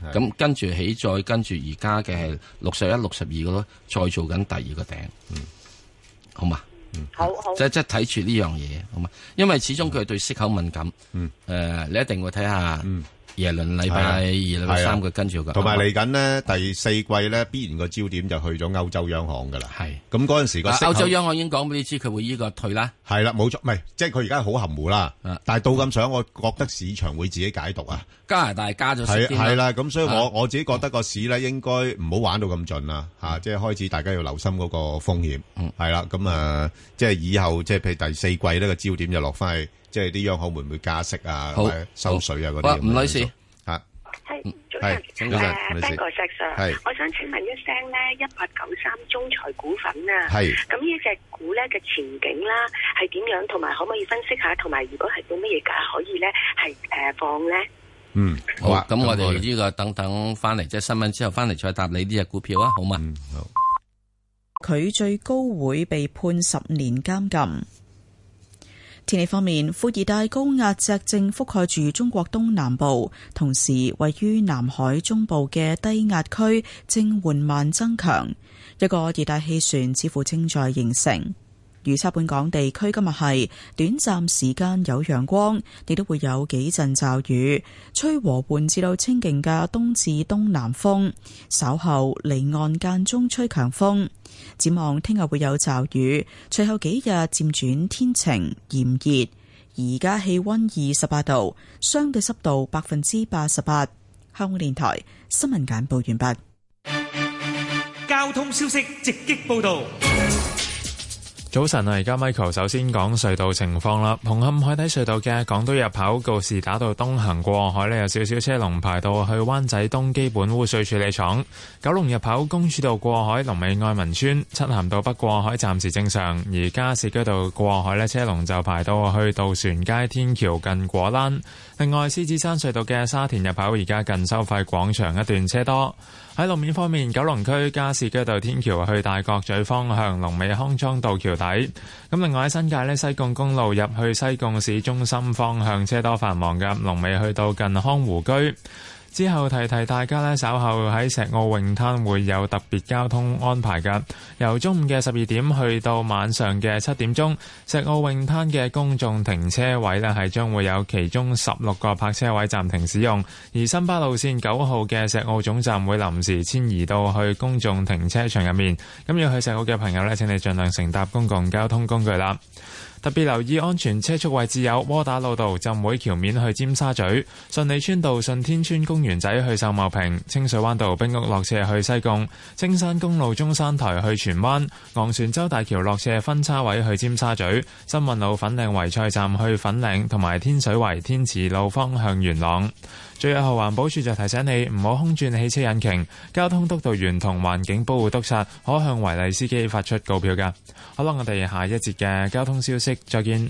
咁跟住起，再跟住而家嘅係61、62嗰度，再做緊第二個頂，好嘛？ 好， 即係睇住呢樣嘢，好嘛？因為始終佢係對息口敏感，你一定會睇下。耶倫禮拜二、禮拜三佢跟住同埋嚟緊呢第四季咧，必然個焦點就去咗歐洲央行噶啦。係咁嗰陣時個歐洲央行已經講俾你知，佢會呢個退啦。 係啦，冇錯，唔係即係佢而家好含糊啦。但係到咁上，我覺得市場會自己解讀啊。 加拿大加咗息係啦，咁所以我自己覺得個市咧應該唔好玩到咁盡啦。即係開始大家要留心嗰個風險。係啦，咁即係以後即係譬如第四季呢個焦點就落翻去。即係啲央行會唔會加息啊？或者收水啊嗰啲。 吳女士， 係早晨，Ben 哥石 Sir，我想請問一聲咧，1893中財股份啊，咁呢隻股咧嘅前景啦係點樣？同埋可唔可以分析下？同埋如果係到乜嘢價可以咧係放咧？ 好啊，咁我哋呢個等翻嚟即係新聞之後翻嚟再答你呢隻股票啊，好嘛？ 好。 佢最高會被判10年監禁。天氣方面，副熱帶高壓脊正覆蓋住中國東南部，同時位於南海中部嘅低壓區正緩慢增強，一個熱帶氣旋似乎正在形成。預測本港地區今日係短暫時間有陽光，亦都會有幾陣驟雨，吹和緩至到清勁嘅東至東南風，稍後離岸間中吹強風。展望聽日會有驟雨，隨後幾日漸轉天晴炎熱。而家氣溫28度，相對濕度88%。香港電台新聞簡報完畢。 交通消息直擊報道。 早晨啊，而家 Michael 首先講隧道情況啦。紅磡海底隧道嘅港島入口告士打道東行過海呢，有少少車龍排到去灣仔東基本污水處理廠。九龍入口公主道過海龍尾愛民村，漆咸道北過海暫時正常。而加士居道過海呢，車龍就排到去渡船街天橋近果欄。另外，獅子山隧道嘅沙田入口而家近收費廣場一段車多。喺路面方面，九龍區加士居道天橋去大角咀方向龍尾康莊道橋底。咁另外喺新界呢，西貢公路入去西貢市中心方向車多繁忙嘅，龍尾去到近康湖居。之後提大家呢，稍後喺石澳泳灘會有特別交通安排㗎。由中午嘅12點去到晚上嘅7點鐘，石澳泳灘嘅公眾停車位呢係將會有其中16個泊車位暫停使用，而新巴路線9號嘅石澳總站會臨時遷移到去公眾停車場入面。咁要去石澳嘅朋友呢，請你盡量乘搭公共交通工具啦。特別留意安全車速位置有窩打老道浸會橋面去尖沙咀、順利村道順天村公園仔去秀茂坪、清水灣道冰屋落斜去西貢、青山公路中山台去荃灣、昂船洲大橋落斜分叉位去尖沙咀、新運路粉嶺圍菜站去粉嶺，同埋天水圍天慈路方向元朗。最後，環保署就提醒你唔好空轉汽車引擎，交通督導員同環境保護督察可向違例司機發出告票㗎。好啦，我哋下一節嘅交通消息再見。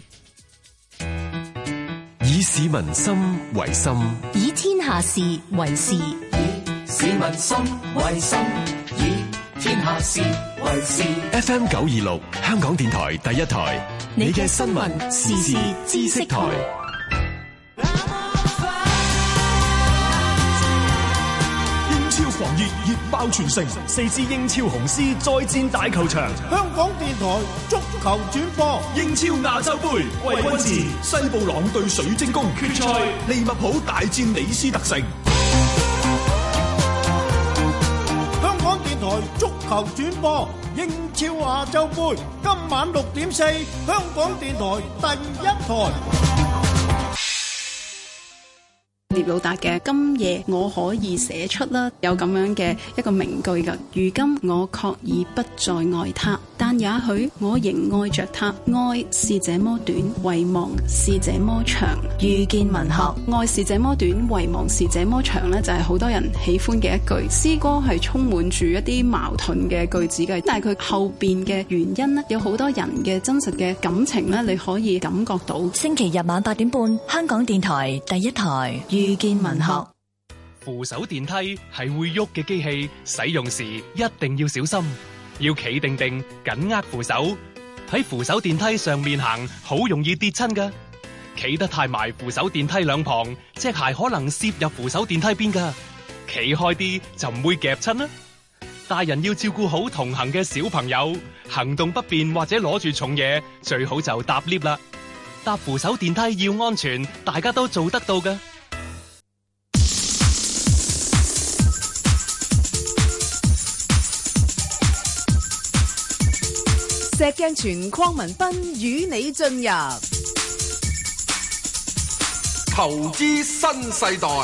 以市民心為心， 以天下事為事，以市民心為心，以天下事為事。 FM 926香港電台第一台，你嘅新聞時事知識台。 狂熱熱爆全城，4支英超紅絲再戰大球場。 香港電台足球轉播英超亞洲盃季軍戰，西布朗對水晶宮決賽，利物浦大戰李斯特城。 香港電台足球轉播英超亞洲盃，今晚6點4，香港電台第一台。 聶魯達嘅今夜我可以寫出啦，有咁樣嘅一個名句㗎。如今我確已不再愛他，但也許我仍愛着他。愛是這麼短，遺忘是這麼長。遇見文學，愛是這麼短，遺忘是這麼長呢，就係好多人喜歡嘅一句詩歌，係充滿住一啲矛盾嘅句子嘅，但係佢後邊嘅原因呢，有好多人嘅真實嘅感情呢，你可以感覺到。 星期日晚8點半，香港電台第一台。遇見文學。 扶手電梯係會喐嘅機器，使用時一定要小心，要企定定，緊握扶手。喺扶手電梯上面行，好容易跌親㗎。企得太埋扶手電梯兩旁，隻鞋可能攝入扶手電梯邊㗎。 企開啲就唔會夾親啦。大人要照顧好同行嘅小朋友，行動不便或者攞住重嘢，最好就搭 lift 啦。搭扶手電梯要安全，大家都做得到㗎。 石鏡泉鄺民彬與你進入投資新世代。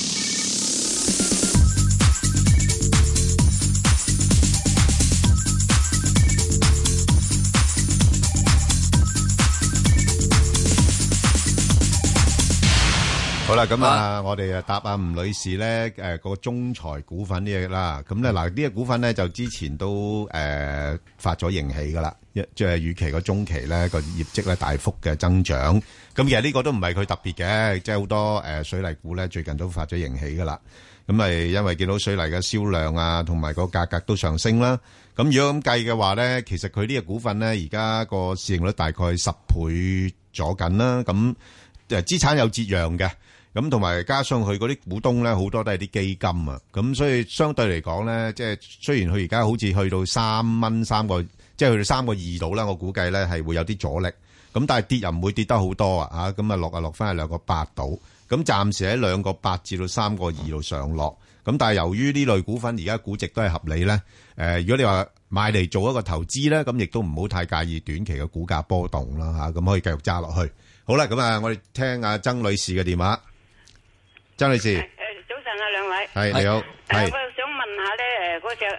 好啦，咁啊，我哋答阿吳女士咧，個中財股份啲嘢啦。咁咧嗱，呢個股份咧就之前都發咗盈喜噶啦，即係預期個中期咧個業績咧大幅嘅增長。咁其實呢個都唔係佢特別嘅，即係好多水泥股咧最近都發咗盈喜噶啦。咁係因為見到水泥嘅銷量啊，同埋個價格都上升啦。咁如果咁計嘅話咧，其實佢呢個股份咧而家個市盈率大概10倍咗緊啦。咁資產有折讓嘅。咁同埋加上佢嗰啲股東咧，好多都係啲基金啊，咁所以相對嚟講咧，即係雖然佢而家好似去到3蚊3個，即係去到3個2度啦，我估計咧係會有啲阻力。咁但係跌又唔會跌得好多啊，咁啊落翻去2個8度。咁暫時喺2個8至到3個2度上落。咁但係由於呢類股份而家估值都係合理咧，如果你話買嚟做一個投資咧，咁亦都唔好太介意短期嘅股價波動啦嚇，咁可以繼續揸落去。好啦，咁啊，我哋聽阿曾女士嘅電話。曾女士， 早晨啊，兩位係你好，係我想問下咧，嗰隻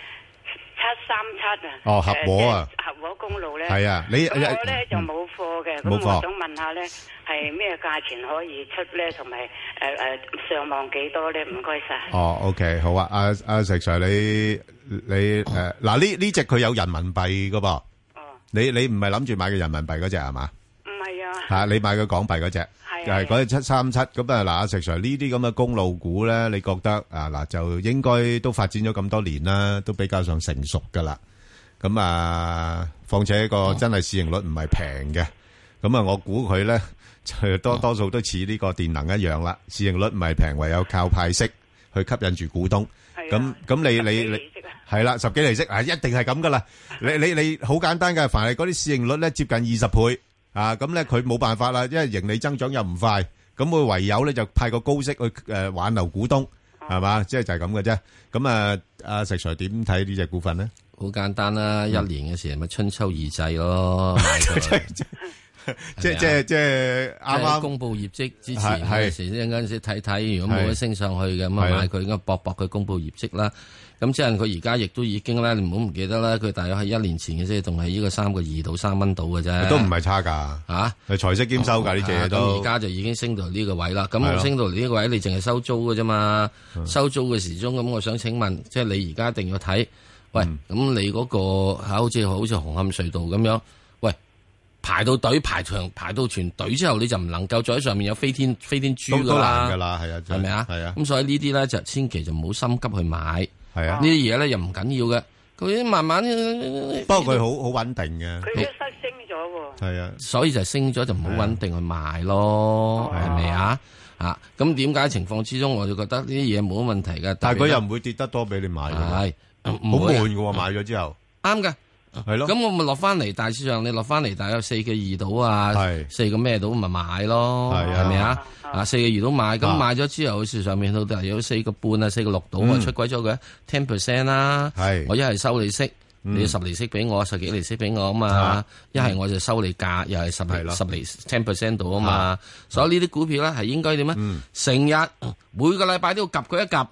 737啊， 哦，合和啊， 合和公路咧， 係啊，你我咧就冇貨嘅，咁我想問下咧，係咩價錢可以出咧，同埋上望幾多咧？唔該晒。 哦 ，OK， 好啊，阿石 Sir， 你嗱呢隻佢有人民幣噶噃，哦，你唔係諗住買嘅人民幣嗰隻係嘛？ 唔係啊， 吓你買嘅港幣嗰隻。係嗰隻737咁啊！嗱，阿石 Sir 呢啲咁嘅公路股咧，你覺得啊嗱，就應該都發展咗咁多年啦，都比較上成熟噶啦。咁啊，況且個真係市盈率唔係平嘅。咁啊，我估佢咧就多數都似呢個電能一樣啦，市盈率唔係平，唯有靠派息去吸引住股東。咁你係啦，10幾厘息啊，一定係咁噶啦。你好簡單嘅，凡係嗰啲市盈率咧接近20倍。啊，咁咧佢冇辦法啦，因為盈利增長又唔快，咁佢唯有咧就派個高息去挽留股東，係嘛，即係就係咁嘅啫。咁啊，阿石 Sir 點睇呢隻股份咧？ 好簡單啦，一年嘅時咪春秋二祭咯，即係啱啱公布業績之前嗰時，一陣時睇睇，如果冇得升上去嘅，咁啊買佢，應該搏佢公布業績啦。咁即係佢而家亦都已經咧，你唔好唔記得啦。佢大約係1年前嘅啫，仲係呢個3個2到3蚊到嘅啫， 都唔係差噶吓，係財息兼收噶呢隻嘢都。 咁而家就已經升到呢個位啦。咁升到嚟呢個位，你淨係收租嘅啫嘛。收租嘅時鐘，咁我想請問，即係你而家一定要睇，喂，咁你嗰個好似紅磡隧道咁樣，喂，排到隊排到全隊之後，你就唔能夠再喺上面有飛天豬噶啦， 都難噶啦，係啊， 係咪啊？ 係啊。 咁所以呢啲咧就千祈就唔好心急去買。 係啊， 呢啲嘢咧又唔緊要嘅，佢慢慢。 不過佢好穩定嘅。 佢一失升咗喎。 係啊， 所以就升咗就唔好穩定去賣咯，係咪啊？啊，咁點解情況之中我就覺得呢啲嘢冇乜問題嘅。 但係佢又唔會跌得多俾你買嘅。係，好悶嘅喎，買咗之後。 啱嘅。係咯，咁我咪落翻嚟大市場，你落翻嚟大約4個2度啊，4個咩度咪買咯，係咪啊？4個2度買，咁買咗之後，市上面到大約4個半啊，4個6度啊，出軌咗佢 10% 啦。我一係收利息，你10厘息俾我，10幾厘息俾我啊嘛。一係我就收你價，又係10厘 10% 度啊嘛。所以呢啲股票咧係應該點啊？成日每個禮拜都要夾佢一夾。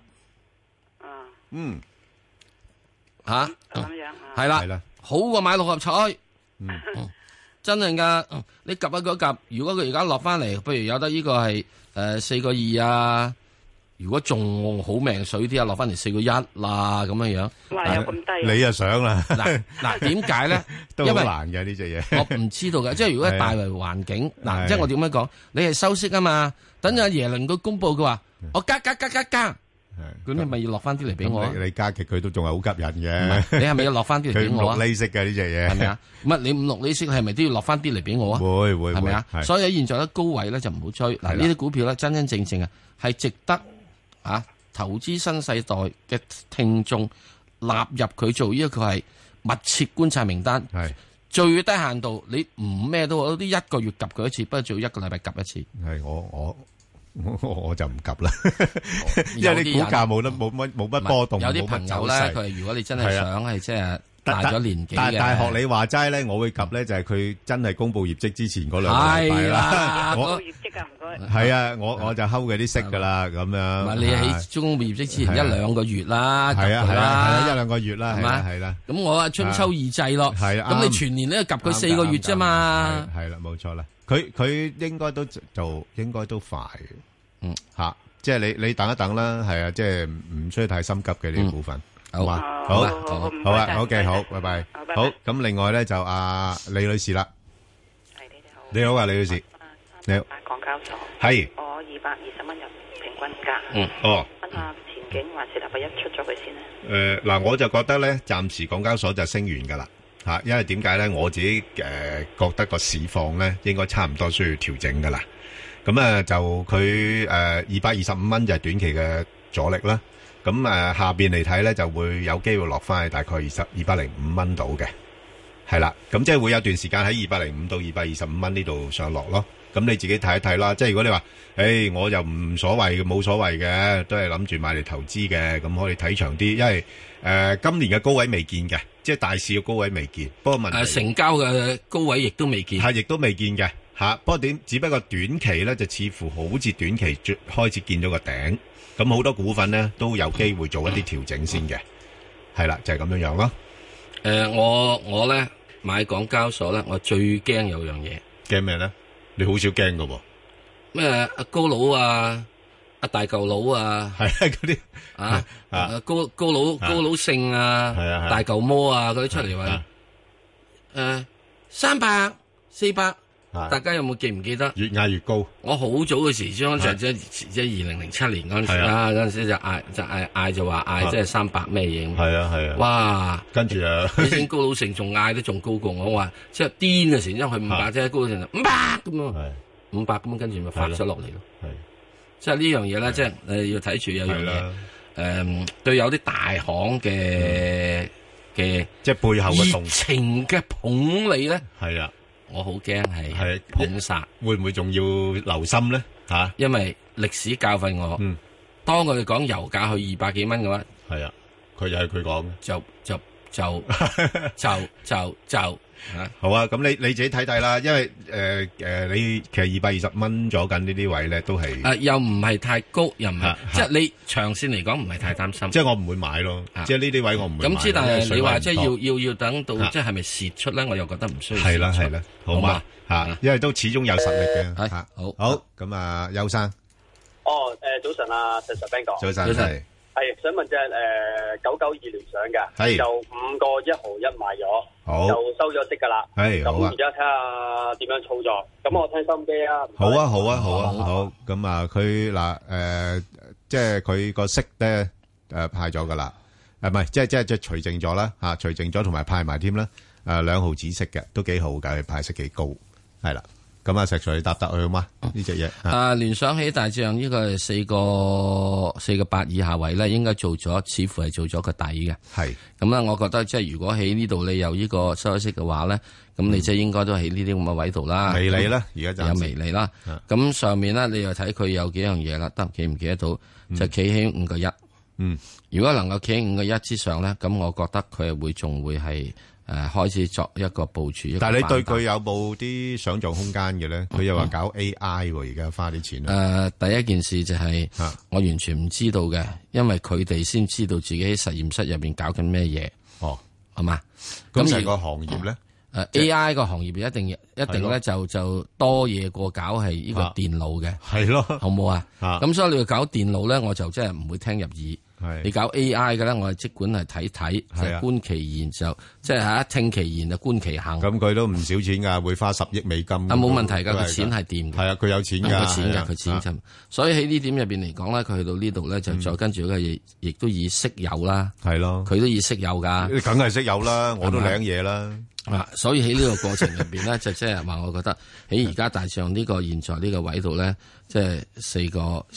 吓咁樣係啦。好過買6合彩，真係噶！你夾一個夾，如果佢而家落翻嚟，譬如有得呢個係4個2啊，如果仲好命水啲啊，落翻嚟4個1啦，咁樣樣。 哇！有咁低？ 你又想啦？ 嗱，點解咧？ 都好難嘅呢隻嘢。 我唔知道嘅，即係如果係大圍環境，嗱，即係我點樣講？你係收息啊嘛，等阿耶倫佢公佈佢話，我加。咁你咪要落翻啲嚟俾我？ 你加極佢都仲係好吸引嘅。 你係咪要落翻啲嚟俾我啊？ 佢5、6厘息嘅呢隻嘢， 係咪啊？乜你5、6厘息係咪都要落翻啲嚟俾我啊？ 會， 係咪啊？所以喺現在咧高位咧就唔好追。嗱，呢啲股票咧真正啊係值得投資新世代嘅聽眾納入佢做呢個係密切觀察名單，係最低限度你唔咩都好，啲一個月及佢一次，不過做一個禮拜及一次。係我就唔及啦，因為啲股價冇乜波動， 有啲朋友咧，佢如果你真係想係即係。大咗年紀嘅， 但係學你話齋咧，我會及咧就係佢真係公布業績之前嗰兩個禮拜啦。 公布業績啊，唔該。 係啊，我就睺佢啲息噶啦，咁樣。 唔係你喺公布業績之前一兩個月啦， 係啊，一兩個月啦，係啦。 咁我啊春秋二祭咯，係啊。咁你全年咧及佢4個月啫嘛。 係啦，冇錯啦。佢應該都快嘅。吓，即係你等一等啦，係啊，即係唔需要太心急嘅呢啲股份。好嘛，好啊，好嘅，好，拜拜。好，咁另外咧就李女士啦。係你好啊，李女士。你好。 港交所。 係。 我220蚊入平均價。問下前景還是禮拜一出咗佢先咧？ 嗱，我就覺得咧，暫時港交所就升完噶啦，吓，因為點解咧？我自己覺得個市況咧，應該差唔多需要調整噶啦。咁啊，就佢225蚊就係短期嘅阻力啦。咁下邊嚟睇咧，就會有機會落翻去大概205蚊度嘅，係啦。咁即係會有段時間喺205到225蚊呢度上落咯。咁你自己睇一睇啦。即係如果你話，我又唔所謂嘅，冇所謂嘅，都係諗住買嚟投資嘅，咁可以睇長啲。因為今年嘅高位未見嘅，即係大市嘅高位未見。不過問題成交嘅高位亦都未見， 係亦都未見嘅嚇。不過只不過短期咧就似乎好似短期開始見咗個頂。咁好多股份咧都有機會做一啲調整先嘅，係啦，就係咁樣樣咯。 我咧買港交所咧，我最驚有樣嘢。 驚咩咧？你好少驚噶喎。 咩阿高佬啊，阿大舊佬啊， 係嗰啲高佬姓啊，大舊魔啊嗰啲出嚟話，300、400。大家有冇記唔記得？ 越嗌越高。我好早嘅時將即係2007年嗰陣時啦，嗰陣時就嗌就話嗌即係300咩嘢。 係啊。哇！跟住以前高佬城仲嗌得仲高過我話，即係癲嘅時，因為佢500即係高佬城500咁啊，500咁跟住咪發咗落嚟咯。係，即係呢樣嘢咧，即係要睇住有樣嘢。對有啲大行嘅即係背後嘅熱情嘅捧你咧。 係啊。 我好驚係捧殺， 會唔會仲要留心咧？吓， 因為歷史教訓我，當佢哋講油價去200幾蚊嘅話， 係啊，佢又係佢講嘅， 就好啊！咁你自己睇睇啦，因為你其實220蚊咗緊呢啲位咧，都係又唔係太高，又唔係即係你長線嚟講唔係太擔心。 即係我唔會買咯，即係呢啲位我唔會買。 咁之但係你話即係要等到即係咪蝕出咧？我又覺得唔需要。 係啦，好嘛吓，因為都始終有實力嘅。好咁啊，邱生。 早晨啊，石 Sir Ben 哥。 早晨。 係想問隻992聯想嘅，就5個1毫1買咗，就收咗息噶啦。係咁而家睇下點樣操作。咁我聽心機啊。 好。咁啊，佢嗱即係佢個息咧派咗噶啦，唔係即係除淨咗啦吓，除淨咗同埋派埋添啦。2毫子息嘅都幾好噶，派息幾高，係啦。咁啊，石 Sir 你答佢好嗎？呢隻嘢聯想起大致上呢個係4個8以下位咧，應該做咗，似乎係做咗個底嘅。係咁啦，我覺得即係如果喺呢度你有呢個收息嘅話咧，咁你即係應該都喺呢啲咁嘅位度啦。 微利啦，而家就有微利啦。咁上面咧，你又睇佢有幾樣嘢啦，得記唔記得到？就企喺5個1。如果能夠企喺5個1之上咧，咁我覺得佢係仲會係。開始作一個部署， 但係你對佢有冇啲想象空間嘅咧？佢又話搞 AI 喎，而家花啲錢。 第一件事就係我完全唔知道嘅，因為佢哋先知道自己喺實驗室入邊搞緊咩嘢。哦，係嘛？ 咁成個行業咧 ，AI 個行業一定咧就多嘢過搞係呢個電腦嘅。係咯，好唔好啊？咁所以你要搞電腦咧，我就真係唔會聽入耳。你搞 AI 嘅咧，我係即管係睇，就觀其言就即係聽其言就觀其行。 咁佢都唔少錢噶，會花10億美金。 冇問題噶，佢錢係掂嘅。 係啊，佢有錢噶， 佢錢就。所以喺呢點入邊嚟講咧，佢去到呢度咧，就再跟住佢亦都以息友啦。 係咯， 佢都以息友噶。 梗係息友啦，我都領嘢啦。 所以喺呢個過程入邊咧，就即係話，我覺得喺而家大上呢個現在呢個位度咧，即係4個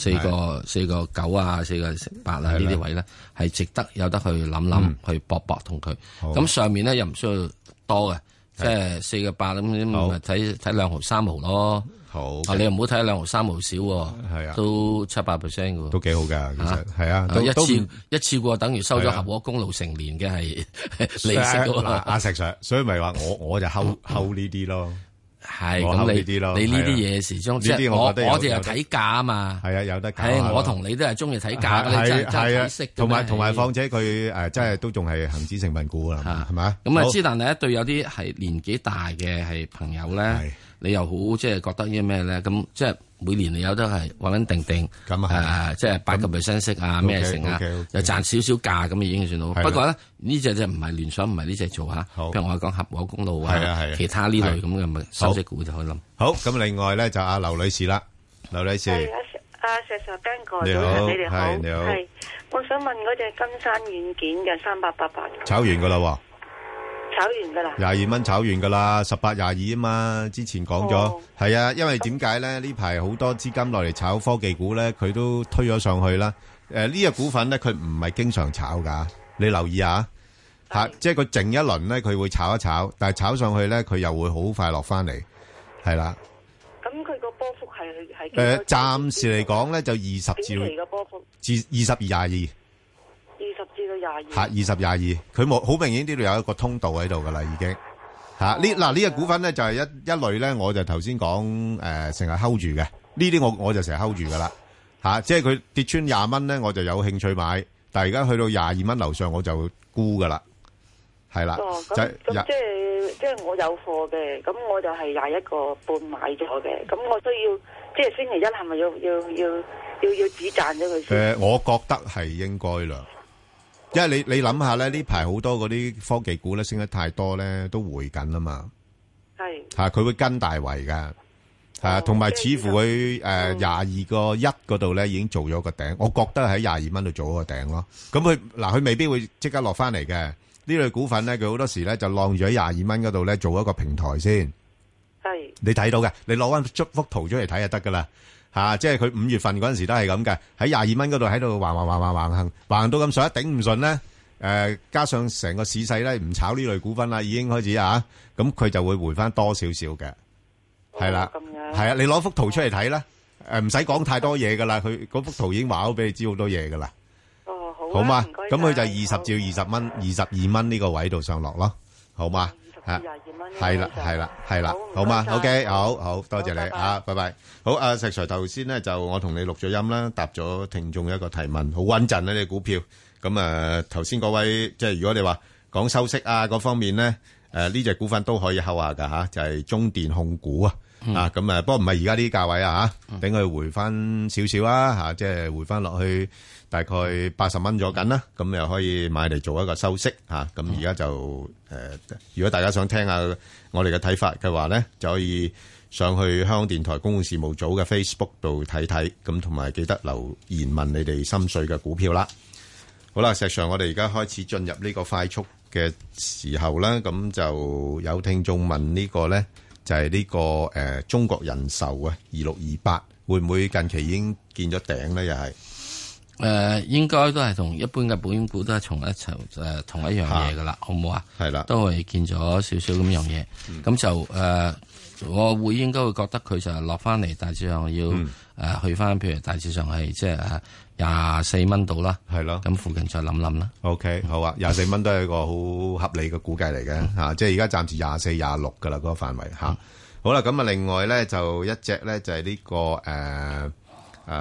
9啊，4個8啊呢啲位咧，係值得有得去諗去搏同佢。咁上面咧又唔需要多嘅，即係4個8咁，咪睇2毫3毫咯。好，你又唔好睇2毫3毫少喎，係啊，都7-8% 嘅喎， 都幾好㗎，其實係啊， 一次過等於收咗合和公路成年嘅係利息喎。 阿石 Sir，所以咪話我就睺呢啲咯， 係咁你呢啲嘢始終即係我哋又睇價啊嘛， 係啊，有得價。 我同你都係中意睇價嘅，真係睇息。 同埋況且佢真係都仲係恒指成分股啦，係咪？ 咁啊，之但係對有啲係年紀大嘅係朋友咧。你又好即係覺得啲咩咧？咁即係每年你有得係穩定咁啊， 即係8%息啊，咩成啊，又賺少少價咁已經算好。不過咧呢隻就唔係聯想，唔係呢隻做嚇。譬如我講合和公路啊，其他呢類咁嘅咪收息股就可以諗。 好，咁另外咧就阿劉女士啦，劉女士。 阿石 Sir Ben 哥， 你好， 你哋好， 你好。 係，我想問嗰隻金山軟件嘅3888。 炒完㗎啦喎。 炒完噶啦 ，22蚊炒完噶啦，18、22啊嘛，之前講咗，係啊，因為點解咧？呢排好多資金落嚟炒科技股咧，佢都推咗上去啦。呢隻股份咧，佢唔係經常炒噶，你留意下吓，即係佢靜一輪咧，佢會炒一炒，但係炒上去咧，佢又會好快落翻嚟，係啦。 咁佢個波幅係暫時嚟講咧，就20至短期嘅波幅 20至22。 20至到22， 吓20、22，佢冇好明顯呢度有一個通道喺度噶啦，已經吓呢隻股份咧就係一類咧，我就頭先講成日 hold 住嘅，呢啲我就成日 hold 住噶啦吓，即係佢跌穿20蚊咧，我就有興趣買，但係而家去到22蚊樓上我就沽噶啦，係啦。 咁即係我有貨嘅，咁我就係21個半買咗嘅，咁我需要即係星期一係咪要止賺咗佢先？ 我覺得係應該啦。因為你諗下咧，呢排好多嗰啲科技股咧升得太多咧，都回緊啦嘛。係吓，佢會跟大圍噶，係同埋似乎佢22個1嗰度咧已經做咗個頂，我覺得喺22蚊度做咗個頂咯。咁佢未必會即刻落翻嚟嘅。呢類股份咧，佢好多時咧就晾住喺22蚊嗰度咧做一個平台先。係你睇到嘅，你攞翻幅圖出嚟睇就得噶啦。吓，即係佢5月份嗰陣時都係咁嘅，喺22蚊嗰度喺度橫到咁上，一頂唔順咧，加上成個市勢咧唔炒呢類股份啦，已經開始咁佢就會回翻多少少嘅，係啦，係啊，你攞幅圖出嚟睇啦，唔使講太多嘢噶啦，佢嗰幅圖已經話咗俾你知好多嘢噶啦。哦，好嘛，咁佢就20至20蚊、22蚊呢個位度上落咯，好嘛？係啦，好嘛 ？OK， 好多謝你啊，拜拜。好，阿石 Sir 頭先咧就我同你錄咗音啦，答咗聽眾一個提問，好穩陣啊！你股票咁頭先嗰位即係如果你話講收息啊嗰方面咧，呢隻股份都可以睺下噶吓，就係中電控股啊，咁不過唔係而家呢啲價位啊吓，等佢回翻少少啊吓，即係回翻落去大概80蚊咗緊啦，咁又可以買嚟做一個收息吓，咁而家就如果大家想聽下我哋嘅睇法嘅話咧，就可以上去香港電台公共事務組嘅 Facebook 度睇睇，咁同埋記得留言問你哋心水嘅股票啦。好啦，石 Sir，我哋而家開始進入呢個快速嘅時候啦，咁就有聽眾問呢個咧，就係呢個中國人壽啊2628，會唔會近期已經見咗頂咧？又係應該都係同一般嘅保險股都係同一樣嘢噶啦，好唔好啊？係啦，都係見咗少少咁樣嘢，咁就我會應該會覺得佢就落翻嚟，大致上要去翻，譬如大致上係即係24蚊度啦，係咯，咁附近再諗諗啦。 OK， 好啊，24蚊都係一個好合理嘅估計嚟嘅吓，即係而家暫時24、26噶啦嗰個範圍吓。好啦，咁啊，另外咧就一隻咧就係呢個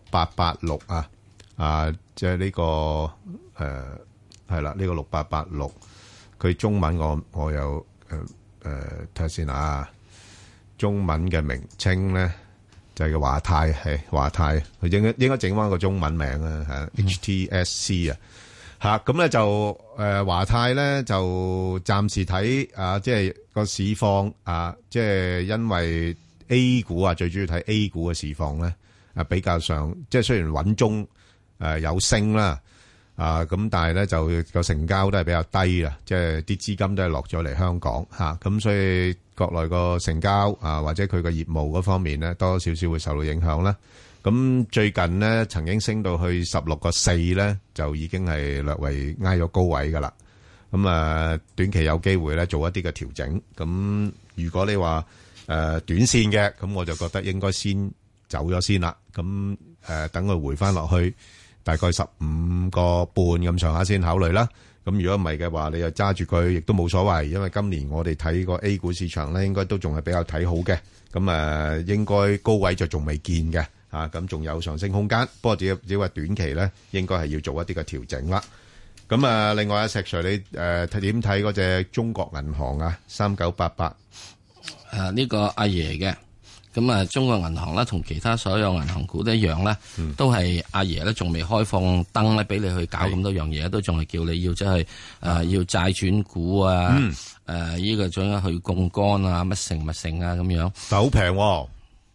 6886啊，即係呢個係啦，呢個6886，佢中文我有睇下先啊。中文嘅名稱咧就係個華泰，係華泰，佢應該整翻個中文名啊，HTSC 啊，吓咁咧就華泰咧就暫時睇即係個市況即係因為 A 股最主要睇 A 股嘅市況咧比較上，即係雖然穩中有升啦咁但係咧就個成交都係比較低啦，即係啲資金都係落咗嚟香港嚇，咁所以國內個成交或者佢個業務嗰方面咧多少少會受到影響啦。咁最近咧曾經升到去16.4咧，就已經係略為挨咗高位噶啦。咁短期有機會咧做一啲嘅調整。咁如果你話短線嘅，咁我就覺得應該先走咗先啦。咁等佢回翻落去大概15.5咁上下先考慮啦。咁如果唔係嘅話，你又揸住佢亦都冇所謂，因為今年我哋睇個 A 股市場咧，應該都仲係比較睇好嘅。咁應該高位就仲未見嘅。咁仲有上升空間，不過只話短期咧，應該係要做一啲嘅調整啦。咁另外阿石 Sir， 你點睇嗰隻中國銀行啊？3988 呢個阿爺嘅，咁中國銀行咧，同其他所有銀行股都一樣咧，都係阿爺咧，仲未開放燈咧，俾你去搞咁多樣嘢，都仲係叫你要即係要債轉股啊，呢個仲要去槓桿啊，乜成啊咁樣， 但係好平喎。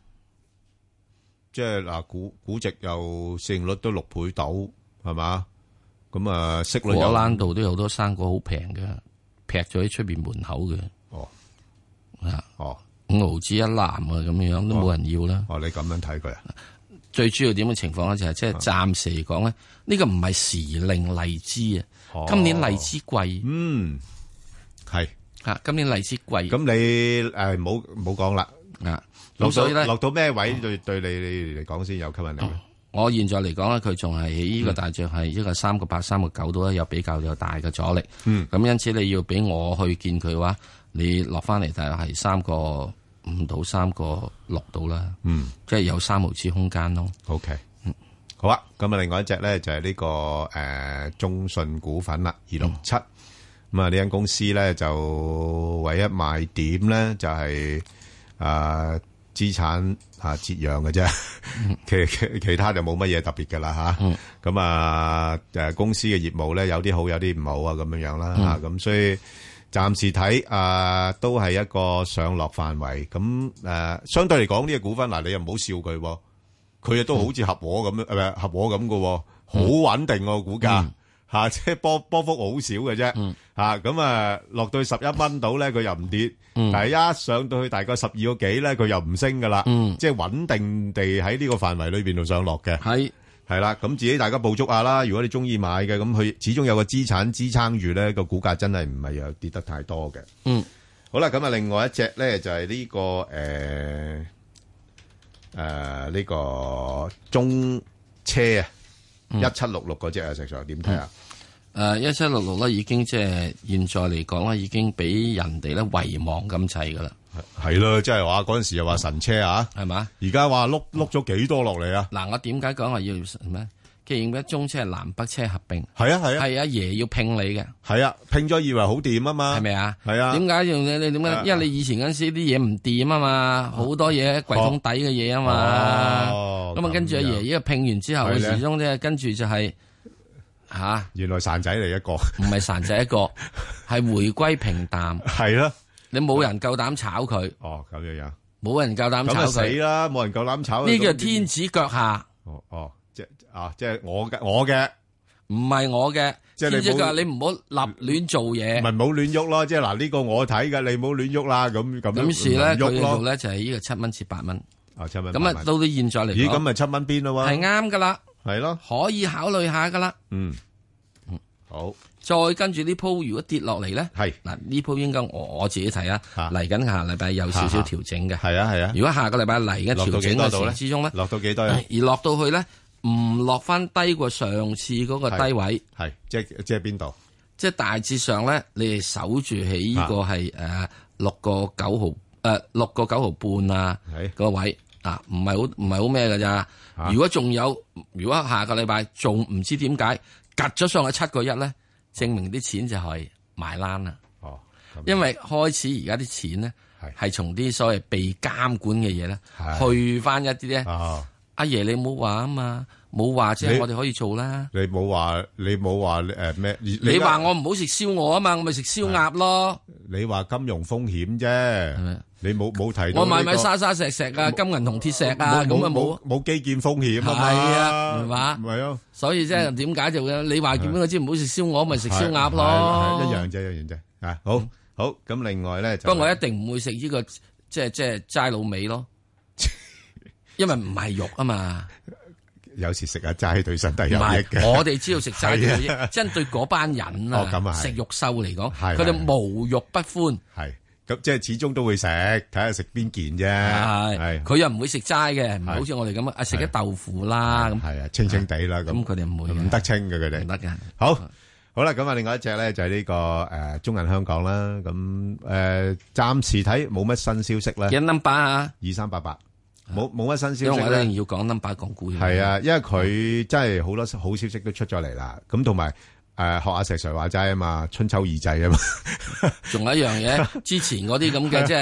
即係嗱，估值又市盈率都6倍到，係嘛？咁息率果欄度都有好多生果好平嘅，劈咗喺出邊門口嘅。5毫子一籃啊，咁樣都冇人要啦。 你咁樣睇佢啊？ 最主要點嘅情況咧，就係即係暫時嚟講咧，呢個唔係時令荔枝啊。今年荔枝貴， 係今年荔枝貴。 咁你唔好講啦。咁所以咧，落到咩位對你嚟講先有吸引力？ 我現在嚟講咧，佢仲係喺呢個大約係一個3.8、3.9度咧，有比較有大嘅阻力。咁因此你要俾我去見佢嘅話，你落翻嚟大約係3.5到3.6度啦。即係有3毫子空間咯。 OK，好啊。咁另外一隻咧就係呢個中信股份啦，267。咁呢間公司咧就唯一賣點咧就係資產折讓嘅啫，其他就冇乜嘢特別嘅啦嚇。咁公司嘅業務咧有啲好有啲唔好啊咁樣樣啦嚇。咁所以暫時睇都係一個上落範圍。咁相對嚟講呢個股份嗱，你又唔好笑佢喎，佢亦都好似合和咁樣合和咁嘅喎，好穩定個股價即係波幅好少嘅啫咁落到去11蚊度咧，佢又唔跌。但係一上到去大概12個幾咧，佢又唔升噶啦，即係穩定地喺呢個範圍裏邊度上落嘅。係啦，咁自己大家捕捉下啦。如果你中意買嘅，咁佢始終有個資產支撐住咧，個股價真係唔係又跌得太多嘅。好啦，咁另外一隻咧就係呢個呢個中車1766嗰隻啊，石 Sir 點睇啊 ？1766咧已經即係現在嚟講咧，已經俾人哋咧遺忘咁滯噶啦。 係咯，即係話嗰陣時又話神車啊， 係嘛？ 而家話碌咗幾多落嚟啊？ 嗱，我點解講話要咩？既然中車係南北車合併， 係啊， 係阿爺要拼你嘅， 係啊，拼咗以為好掂啊嘛， 係咪啊？ 係啊， 點解用你點解？因為你以前嗰陣時啲嘢唔掂啊嘛，好多嘢櫃桶底嘅嘢啊嘛，咁跟住阿爺呢個拼完之後，始終咧跟住就係。 原來散仔嚟一個， 唔係散仔一個，係回歸平淡。 係啦， 你冇人夠膽炒佢。 哦，咁樣， 冇人夠膽炒佢。 死啦，冇人夠膽炒。 呢個天子腳下。 即係我嘅， 唔係我嘅。即係你唔好立亂做嘢。 唔係唔好亂喐咯，即係嗱呢個我睇嘅，你唔好亂喐啦。咁事咧，佢度咧就係呢個7蚊至8蚊。 7蚊。 咁到到現在嚟講， 咦？咁咪7蚊邊咯？ 係啱噶啦。 係咯， 可以考慮下噶啦。 好。 再跟住呢鋪，如果跌落嚟咧， 係嗱呢鋪應該我自己睇啊，嚟緊下禮拜有少少調整嘅。 係啊。如果下個禮拜嚟嘅調整嘅時之中咧， 落到幾多？ 而落到去咧，唔落翻低過上次嗰個低位。 係，即係邊度？ 即係大致上咧，你哋守住喺呢個係6個9毫6個9毫半啊個位。唔係好咩㗎咋？如果下個禮拜仲唔知點解趌咗上去7個1咧，證明啲錢就係埋欄啦。因為開始而家啲錢咧係從啲所謂被監管嘅嘢咧，去翻一啲咧阿爺你冇話啊嘛，冇話即係我哋可以做啦。 你冇話咩？ 你話我唔好食燒鵝啊嘛，我咪食燒鴨咯。 你話金融風險啫，你冇提到。 我買沙石啊，金銀銅鐵石啊，咁啊冇基建風險啊嘛。 係啊，係嘛？ 係啊。所以即係點解就你話叫邊個知唔好食燒鵝，咪食燒鴨咯。 一樣啫。啊，好。咁另外咧， 不過我一定唔會食呢個即係齋滷味咯，因為唔係肉啊嘛。 有時食下齋對身體有益嘅。 我哋知道食齋對有益，真對嗰班人啊，食肉獸嚟講，佢哋無肉不歡。 係咁，即係始終都會食，睇下食邊件啫。係佢又唔會食齋嘅，唔係好似我哋咁啊，食啲豆腐啦咁。 係啊，清清地啦咁。 咁佢哋唔會唔得清嘅佢哋。 唔得嘅。 好啦，咁啊，另外一隻咧就係呢個中銀香港啦。咁暫時睇冇乜新消息啦。 幾 number 啊 ？2388。冇乜新消息， 因為我一定要講 number 講股。 係啊，因為佢真係好多好消息都出咗嚟啦。咁同埋學阿石 Sir 話齋啊嘛，春秋二祭啊嘛。 仲有一樣嘢，之前嗰啲咁嘅即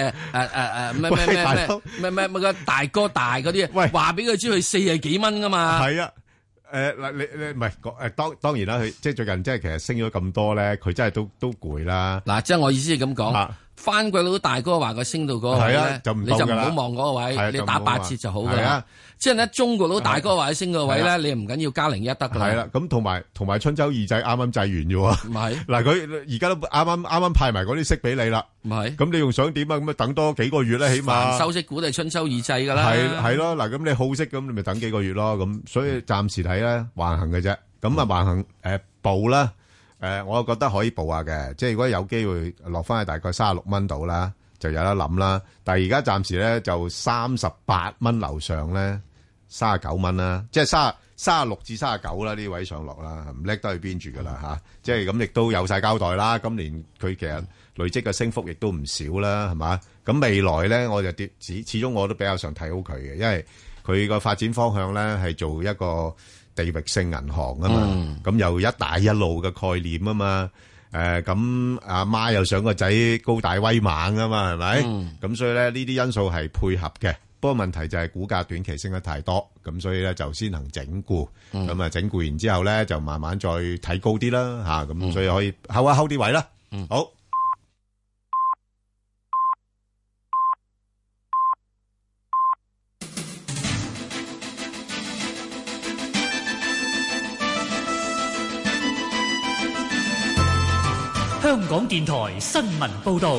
係咩個大哥大嗰啲，喂，話俾佢知佢40幾蚊噶嘛。 係啊，嗱你唔係當然啦，佢即係最近即係其實升咗咁多咧，佢真係都攰啦。 嗱，即係我意思係咁講。番鬼佬大哥話佢升到嗰個位咧，你就唔好望嗰個位，你打8折就好噶啦。即係咧，中國佬大哥話佢升個位咧，你唔緊要加01得噶啦。 係啦，咁同埋春秋二祭啱啱祭完啫喎。 唔係嗱，佢而家都啱啱派埋嗰啲息俾你啦。 唔係， 咁你仲想點啊？咁啊等多幾個月咧，起碼收息股都係春秋二祭噶啦。 係咯，嗱，咁你好息咁，你咪等幾個月咯。咁所以暫時睇咧橫行嘅啫。咁啊橫行步啦。我覺得可以報下嘅，即係如果有機會落翻去大概36蚊度啦，就有得諗啦。但係而家暫時咧就38蚊樓上咧，39蚊啦，即係36至39啦，呢位上落啦，唔叻得去邊住噶啦嚇。即係咁亦都有晒交代啦。今年佢其實累積嘅升幅亦都唔少啦，係嘛？咁未來咧我就始終我都比較上睇好佢嘅，因為佢個發展方向咧係做一個地域性銀行啊嘛，咁又一帶一路嘅概念啊嘛，咁阿媽又想個仔高大威猛啊嘛，係咪？咁所以咧呢啲因素係配合嘅，不過問題就係股價短期升得太多，咁所以咧就先行整固，咁啊整固完之後咧就慢慢再睇高啲啦嚇，咁所以可以睺啲位啦。好。 香港電台新聞報道。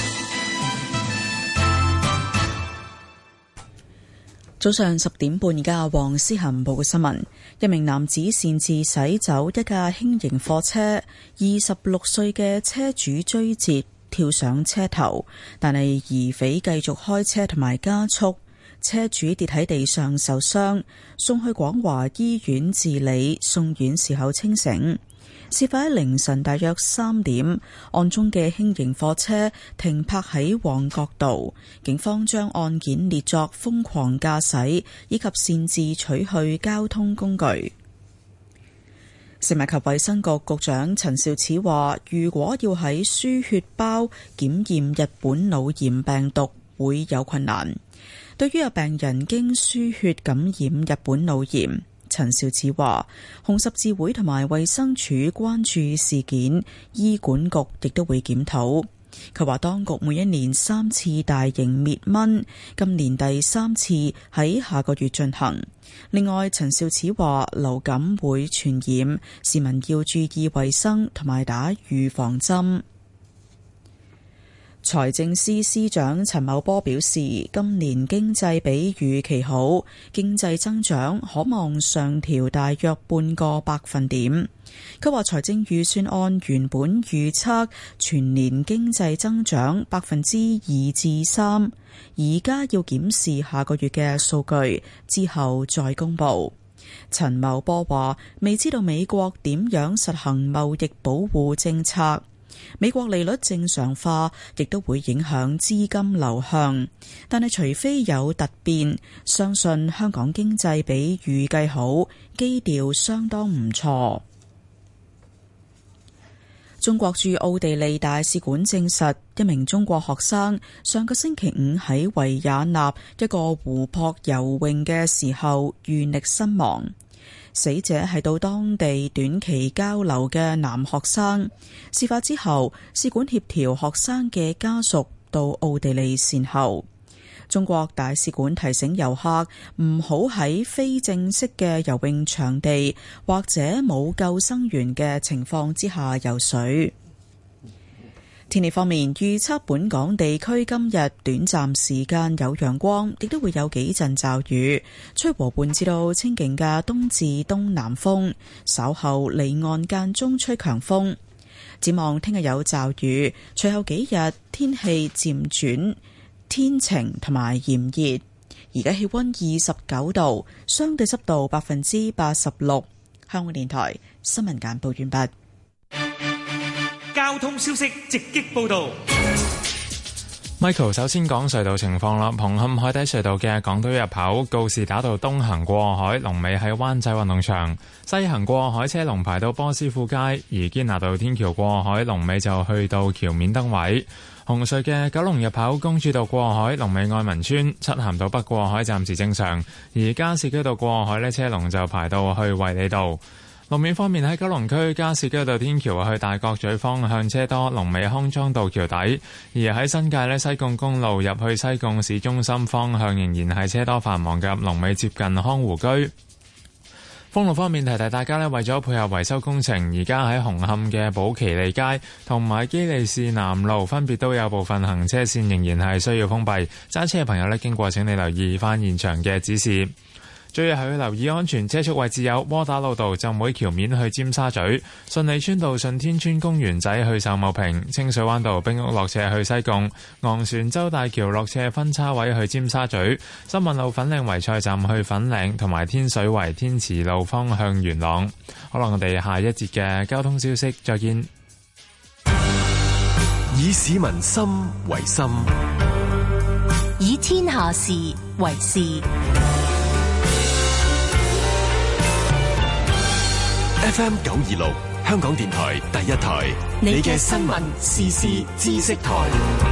早上10點半，而家黃思涵報嘅新聞：一名男子擅自駛走一架輕型貨車，26歲嘅車主追截，跳上車頭，但係疑匪繼續開車同埋加速，車主跌喺地上受傷，送去廣華醫院治理，送院時候清醒。事發喺凌晨大約3點，案中嘅輕型貨車停泊喺旺角道，警方將案件列作瘋狂駕駛以及擅自取去交通工具。食物及衛生局局長陳肇始話，如果要喺輸血包檢驗日本腦炎病毒，會有困難。對於有病人經輸血感染日本腦炎，陳肇始話，紅十字會同埋衛生署關注事件，醫管局亦都會檢討。佢話當局每一年3次大型滅蚊，今年第3次喺下個月進行。另外，陳肇始話流感會傳染，市民要注意衛生同埋打預防針。財政司司長陳茂波表示，今年經濟比預期好，經濟增長可望上調大約半個百分點。佢話財政預算案原本預測全年經濟增長2%至3%，而家要檢視下個月嘅數據之後再公佈。陳茂波話，未知道美國點樣實行貿易保護政策。美國利率正常化亦都會影響資金流向，但係除非有突變，相信香港經濟比預計好，基調相當唔錯。 中國駐奧地利大使館證實，一名中國學生上個星期五喺維也納一個湖泊游泳嘅時候遇溺身亡。死者係到當地短期交流嘅男學生。事發之後，使館協調學生嘅家屬到奧地利善後。中國大使館提醒遊客唔好喺非正式嘅游泳場地或者冇救生員嘅情況之下游水。天氣方面，預測本港地區今日短暫時間有陽光，亦都會有幾陣驟雨，吹和緩至到清勁嘅東至東南風，稍後離岸間中吹強風。展望聽日有驟雨，隨後幾日天氣漸轉天晴同埋炎熱。而家氣溫29度，相對濕度86%。香港電台新聞簡報完畢。 交通消息直擊報道。 Michael 首先講隧道情況啦。紅磡海底隧道嘅港島入口告士打道東行過海，龍尾喺灣仔運動場；西行過海車龍排到波斯富街，而堅拿道天橋過海龍尾就去到橋面燈位。紅隧嘅九龍入口公主道過海龍尾愛民村，漆咸道北過海暫時正常，而加士居道過海呢車龍就排到去衛理道。路面方面，喺九龍區加士居道天橋去大角咀方向車多，龍尾康莊道橋底；而喺新界呢，西貢公路入去西貢市中心方向仍然係車多繁忙嘅，龍尾接近康湖居。封路方面，提提大家呢，為咗配合維修工程，而家喺紅磡嘅寶其利街同埋基利士南路分別都有部分行車線仍然係需要封閉，揸車嘅朋友呢，經過請你留意翻現場嘅指示。最後係要留意安全車速位置有窩打老道浸會橋面去尖沙咀、順利村道順天村公園仔去秀茂坪、清水灣道冰屋落斜去西貢、昂船洲大橋落斜分叉位去尖沙咀、新運路粉嶺圍菜站去粉嶺，同埋天水圍天慈路方向元朗。好啦，我哋下一節嘅交通消息再見。 以市民心為心， 以天下事為事。 FM 926香港電台第一台，你嘅新聞時事知識台。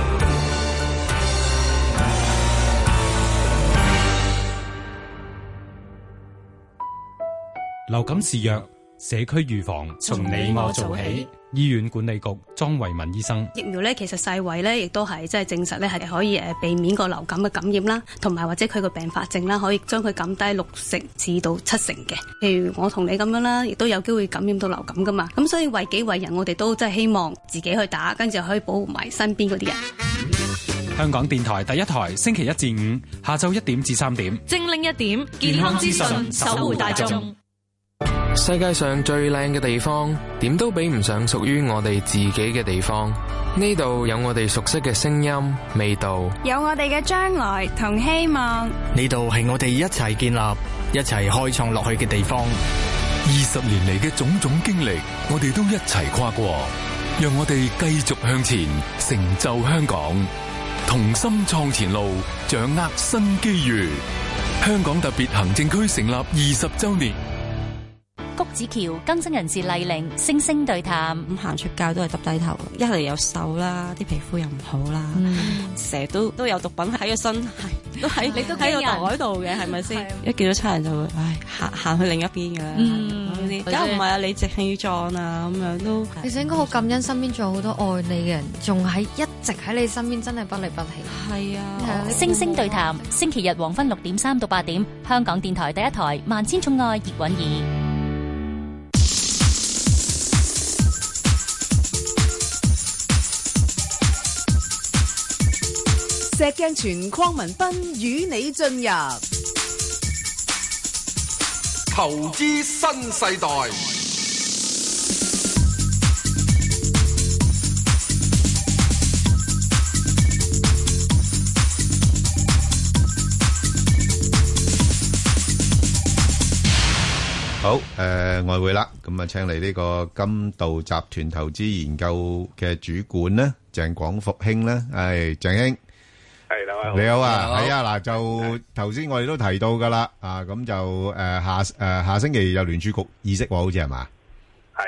流感肆虐，社區預防從你我做起。醫院管理局莊維民醫生， 疫苗呢，其實世衛呢亦都係即係證實呢係可以避免個流感嘅感染啦，同埋或者佢個併發症啦，可以將佢減低60%至到70%嘅。譬如我同你咁樣啦，亦都有機會感染到流感噶嘛。咁所以為己為人，我哋都真係希望自己去打，跟住可以保護埋身邊嗰啲人。 香港電台第一台，星期1至5下晝1點至3點， 精靈1點，健康資訊，守護大眾。 世界上最靚嘅地方，點都比唔上屬於我哋自己嘅地方。呢度有我哋熟悉嘅聲音、味道， 有我哋嘅將來同希望。 呢度係我哋一齊建立、一齊開創落去嘅地方。 20年嚟嘅種種經歷，我哋都一齊跨過，讓我哋繼續向前，成就香港，同心創前路，掌握新機遇。香港特別行政區成立20週年。 谷子橋更新人士麗玲星星對談， 咁行出街都係耷低頭，一嚟又瘦啦，啲皮膚又唔好啦，成日都有毒品喺個身，都喺你都喺個袋度嘅，係咪先？一見到差人就會行去另一邊嘅啦，嗰啲梗唔係啊，理直氣壯啊咁樣都。 其實應該好感恩身邊仲有好多愛你嘅人，仲喺一直喺你身邊，真係不離不棄。 係啊， 星星對談，星期日黃昏6點3到8點，香港電台第一台萬千寵愛葉韻儀。 石鏡泉鄺民彬與你進入投資新世代。 好，外匯啦，咁啊，請嚟呢個金道集團投資研究嘅主管咧，鄭廣復兄咧，係鄭兄。你好啊，係啊，嗱，就頭先我哋都提到噶啦，啊，咁就下星期有聯儲局議息喎，好似係嘛？ 係。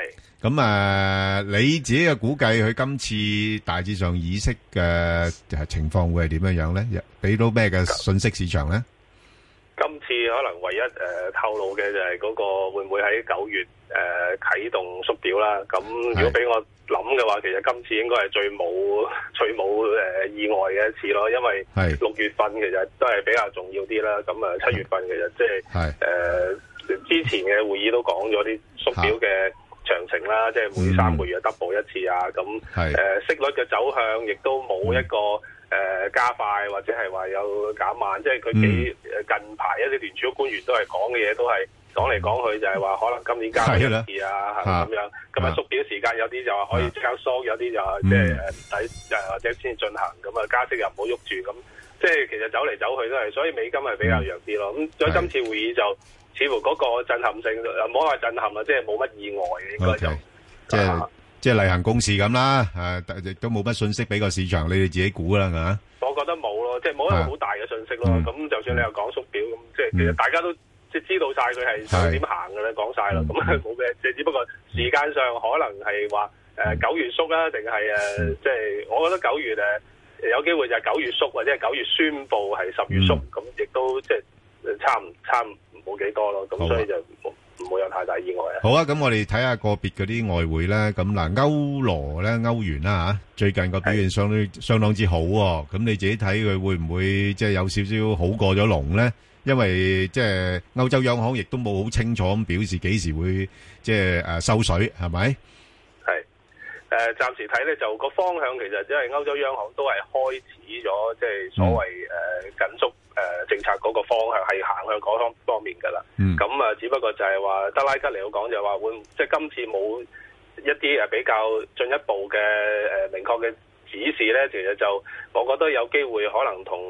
咁你自己嘅估計，佢今次大致上議息嘅情況會係點樣樣咧？俾到咩嘅信息市場咧？ 今次可能唯一透露嘅就係嗰個會唔會喺9月啟動縮表啦？咁如果俾我諗嘅話，其實今次應該係最冇意外嘅一次咯，因為6月份其實都係比較重要啲啦。咁7月份其實即係之前嘅會議都講咗啲縮表嘅詳情啦，即係每3個月 double 一次啊。咁息率嘅走向亦都冇一個加快或者係話有減慢，即係佢近排一啲聯儲官員都係講嘅嘢都係講嚟講去就係話可能今年加一次啊，係咁樣。咁縮表時間有啲就話可以即刻縮，有啲就話即係唔使或者先進行。咁加息又唔好喐住，咁即係其實走嚟走去都係，所以美金係比較弱啲咯。咁所以今次會議就似乎嗰個震撼性唔好話震撼啦，即係冇乜意外嘅應該就即係例行公事咁啦，亦都冇乜信息俾個市場，你哋自己估啦，係嘛？ 我覺得冇咯，即係冇一個好大嘅信息咯。咁就算你又講縮表，咁即係其實大家都即係知道晒佢係想點行嘅咧，講晒啦。咁冇咩，即係只不過時間上可能係話9月縮啦，定係即係我覺得9月有機會就係9月縮，或者係9月宣佈係10月縮，咁亦都即係差唔冇幾多咯。咁所以就唔會有太大意外啊！ 好啊，咁我哋睇下個別嗰啲外匯咧，咁嗱歐羅咧、歐元啦嚇，最近個表現相當之好喎。咁你自己睇佢會唔會即係有少少好過咗龍咧？因為即係歐洲央行亦都冇好清楚咁表示幾時會即係收水，係咪？ 係暫時睇咧就個方向其實因為歐洲央行都係開始咗即係所謂緊縮政策嗰個方向係行向嗰方面㗎啦。咁只不過就係話德拉吉嚟講就係話會即係今次冇一啲比較進一步嘅明確嘅指示咧，其實就我覺得有機會可能同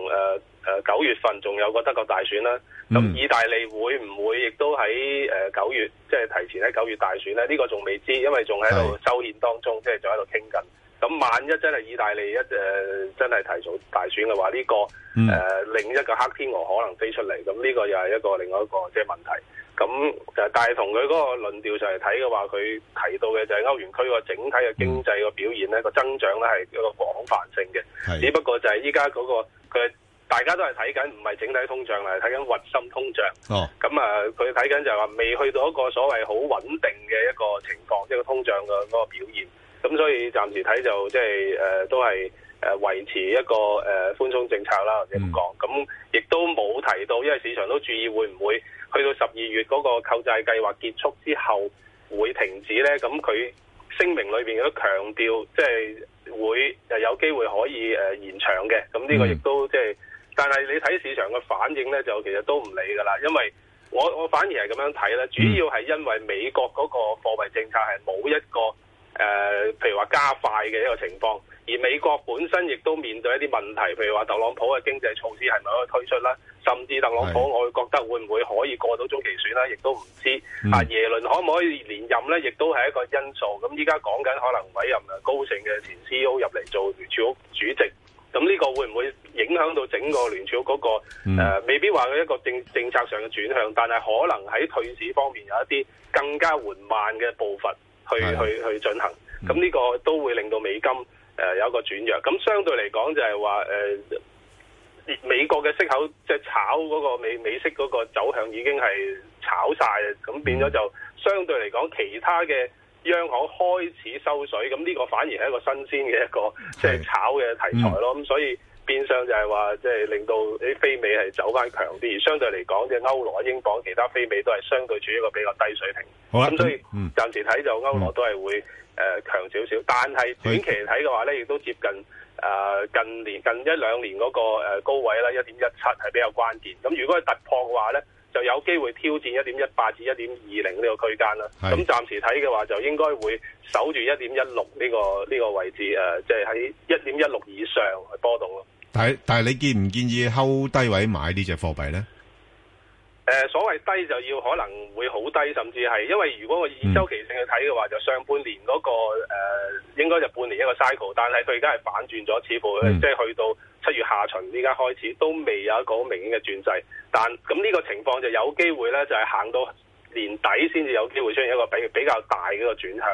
9月份仲有個德國大選啦。咁意大利會唔會亦都喺9月即係提前喺9月大選咧？呢個仲未知，因為仲喺度修憲當中，即係仲喺度傾緊。咁萬一真係意大利真係提早大選嘅話，呢個另一個黑天鵝可能飛出嚟，咁呢個又係另外一個即係問題。咁但係同佢嗰個論調上嚟睇嘅話，佢提到嘅就係歐元區個整體嘅經濟個表現咧，個增長咧係一個廣泛性嘅。只不過就係依家嗰個佢大家都係睇緊唔係整體通脹啦，係睇緊核心通脹。咁佢睇緊就係話未去到一個所謂好穩定嘅一個情況，即係個通脹嘅嗰個表現。咁所以暫時睇就即係都係維持一個寬鬆政策啦，或者咁講。咁亦都冇提到，因為市場都注意會唔會去到12月嗰個購債計劃結束之後會停止咧？咁佢聲明裏邊都強調，即係會有機會可以延長嘅。咁呢個亦都即係，但係你睇市場嘅反應咧，就其實都唔理㗎啦。因為我反而係咁樣睇咧，主要係因為美國嗰個貨幣政策係冇一個譬如話加快嘅一個情況，而美國本身亦都面對一啲問題，譬如話特朗普嘅經濟措施係咪可以推出啦？甚至特朗普我會覺得會唔會可以過到中期選啦，亦都唔知。耶倫可唔可以連任咧，亦都係一個因素。咁依家講緊可能委任高盛嘅前 CEO 入嚟做聯儲局主席，咁呢個會唔會影響到整個聯儲局嗰個未必話佢一個政策上嘅轉向，但係可能喺退市方面有一啲更加緩慢嘅步伐去進行。咁呢個都會令到美金有一個轉弱。咁相對嚟講就係話美國嘅息口即係炒嗰個美息嗰個走向已經係炒晒，咁變咗就相對嚟講其他嘅央行開始收水，咁呢個反而係一個新鮮嘅一個即係炒嘅題材咯。咁所以變相就係話即係令到啲非美係走翻強啲，而相對嚟講即係歐羅、英鎊其他非美都係相對處於一個比較低水平。咁所以暫時睇就歐羅都係會強少少，但係短期嚟睇嘅話咧，亦都接近近一兩年嗰個高位啦，1.17係比較關鍵。咁如果係突破嘅話咧，就有機會挑戰1.18至1.20呢個區間啦。咁暫時睇嘅話，就應該會守住1.16呢個位置，即係喺1.16以上去波動咯。 但係你建唔建議睺低位買呢隻貨幣咧？ 所謂低就要可能會好低，甚至係因為如果我以周期性去睇嘅話，就上半年嗰個應該就半年一個 cycle， 但係佢而家係反轉咗，似乎即係去到7月下旬呢家開始都未有一個好明顯嘅轉勢。但咁呢個情況就有機會咧，就係行到年底先至有機會出現一個比較大嘅一個轉向。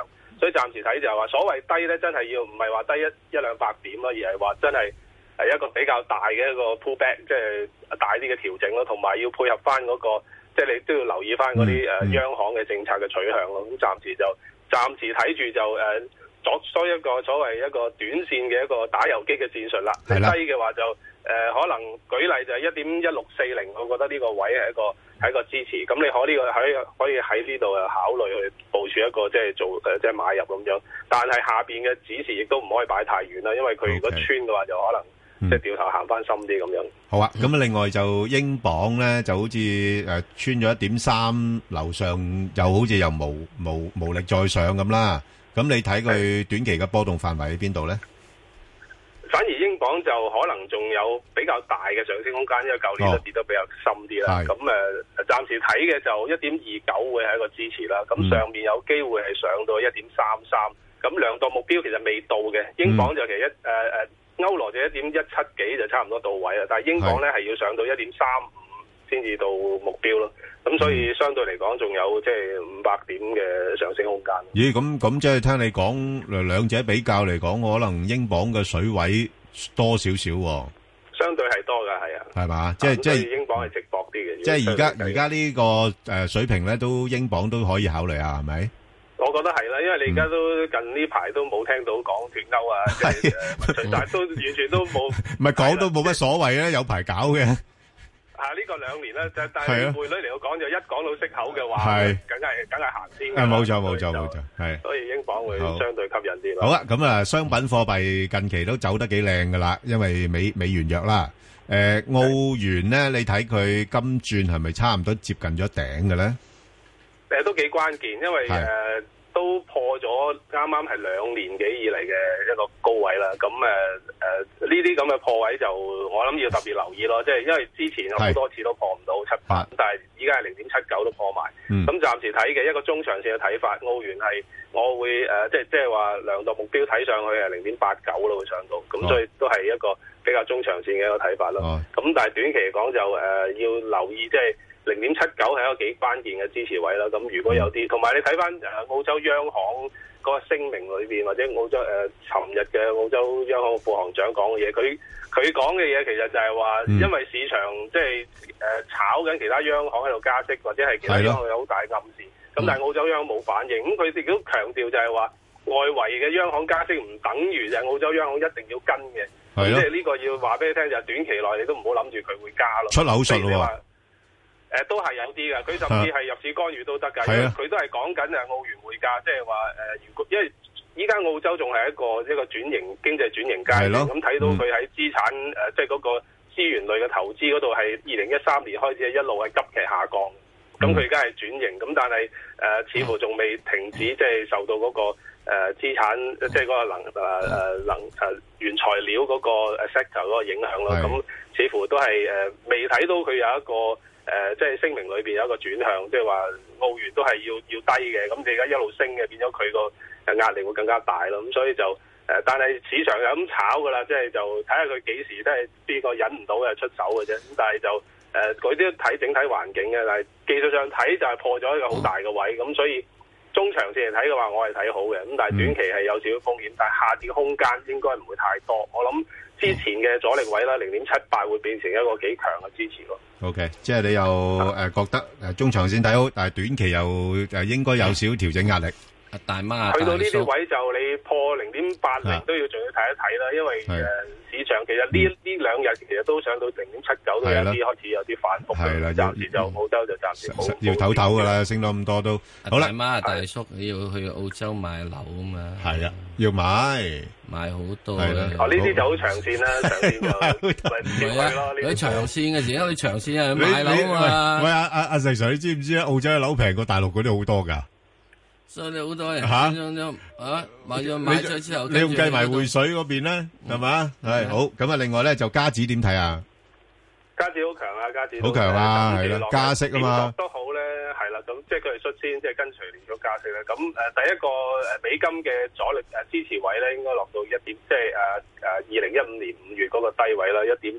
所以暫時睇就係話所謂低咧，真係要唔係話低一兩百點咯，而係話真係一個比較大嘅一個 pullback， 即係大啲嘅調整咯，同埋要配合翻嗰個，即係你都要留意翻嗰啲央行嘅政策嘅取向咯。咁暫時睇住就作一個所謂一個短線嘅一個打游擊嘅戰術啦。低嘅話就可能舉例就係1.1640，我覺得呢個位係一個支持。咁你可以喺呢度考慮去部署一個即係做即係買入咁樣。但係下邊嘅指示亦都唔可以擺太遠啦，因為佢如果穿嘅話就可能即係掉頭行翻深啲咁樣。 好啊，咁另外就英鎊咧就好似穿咗1.3樓上，又好似又無力再上咁啦。咁你睇佢短期嘅波動範圍喺邊度咧？ 反而英鎊就可能仲有比較大嘅上升空間，因為舊年都跌得比較深啲啦。咁暫時睇嘅就1.29會係一個支持啦。咁上面有機會係上到1.33。咁量度目標其實未到嘅，英鎊就其實歐羅就1.17幾就差唔多到位啦。但係英鎊咧係要上到1.35先至到目標咯。咁所以相對嚟講仲有即係500點嘅上升空間。 咦？咁即係聽你講兩者比較嚟講，可能英鎊嘅水位多少少喎？ 相對係多㗎，係啊。係嘛？即係英鎊係值博啲嘅。 即係而家呢個水平咧，都英鎊都可以考慮下，係咪？ 我覺得係啦，因為你而家都近呢排都冇聽到講脫歐啊，即係但係都完全都冇。唔係講都冇乜所謂咧，有排搞嘅。呢個2年咧，但係匯率嚟講就一講到息口嘅話，梗係行先。 冇錯，係。 所以英鎊會相對吸引啲咯。 好啦，咁啊，商品貨幣近期都走得幾靚噶啦，因為美元弱啦。澳元咧，你睇佢今轉係咪差唔多接近咗頂嘅咧？ 都幾關鍵，因為都破咗啱啱係2年幾以嚟嘅一個高位啦。咁呢啲咁嘅破位就我諗要特別留意咯。即係因為之前好多次都破唔到7-8，但係依家係0.79都破埋。咁暫時睇嘅一個中長線嘅睇法，澳元係我會即係話量度目標睇上去係0.89咯，會上到。咁所以都係一個比較中長線嘅一個睇法咯。咁但係短期嚟講就要留意即係。0.79係一個幾關鍵嘅支持位啦。咁如果有啲，同埋你睇翻澳洲央行嗰個聲明裏邊，或者澳洲尋日嘅澳洲央行副行長講嘅嘢，佢講嘅嘢其實就係話，因為市場即係炒緊其他央行喺度加息，或者係其他央行有好大暗示。咁但係澳洲央行冇反應。咁佢哋都強調就係話，外圍嘅央行加息唔等於就係澳洲央行一定要跟嘅。即係呢個要話俾你聽，就係短期內你都唔好諗住佢會加咯。 出口術喎。 都係有啲㗎，佢甚至係入市干預都得㗎，因為佢都係講緊澳元匯價，即係話如果因為依家澳洲仲係一個轉型經濟轉型階段，咁睇到佢喺資產即係嗰個資源類嘅投資嗰度係2013年開始一路係急劇下降，咁佢而家係轉型，咁但係似乎仲未停止，即係受到嗰個資產即係嗰個原材料嗰個 sector 嗰個影響咯，咁似乎都係未睇到佢有一個。即係聲明裏邊有一個轉向，即係話澳元都係要低嘅，咁你而家一路升嘅，變咗佢個壓力會更加大咯。咁所以就但係市場就咁炒㗎啦，即係就睇下佢幾時都係邊個忍唔到就出手嘅啫。咁但係就佢都睇整體環境嘅，但係技術上睇就係破咗一個好大嘅位，咁所以中長線嚟睇嘅話，我係睇好嘅。咁但係短期係有少少風險，但係下跌嘅空間應該唔會太多。我諗之前嘅阻力位啦，0.78會變成一個幾強嘅支持咯。 OK， 即係你又覺得中長線睇好，但係短期又應該有少少調整壓力。 大媽去到呢啲位就你破0.80都要仲要睇一睇啦，因為市場其實呢2日其實都上到0.79都有啲開始有啲反覆。係啦，暫時就澳洲就暫時要唞唞㗎啦，升到咁多都好啦。 大媽大叔你要去澳洲買樓啊嘛。 係啊，要買好多嘅。呢啲就好長線啦，長線就咪少去咯。 你長線嘅時候，你長線係買樓啊嘛。 喂阿石 Sir，你知唔知澳洲嘅樓平過大陸嗰啲好多㗎？ 所以你好多人買咗之後， 你用計埋匯水嗰邊咧，係嘛？係好咁啊！另外咧就加指點睇啊？ 加指好強啊！加指好強啊！係啦，加息啊嘛。 都好咧，係啦。咁即係佢哋率先即係跟隨連咗加息咧。咁第一個美金嘅阻力支持位咧，應該落到1點，即係2015年5月嗰個低位啦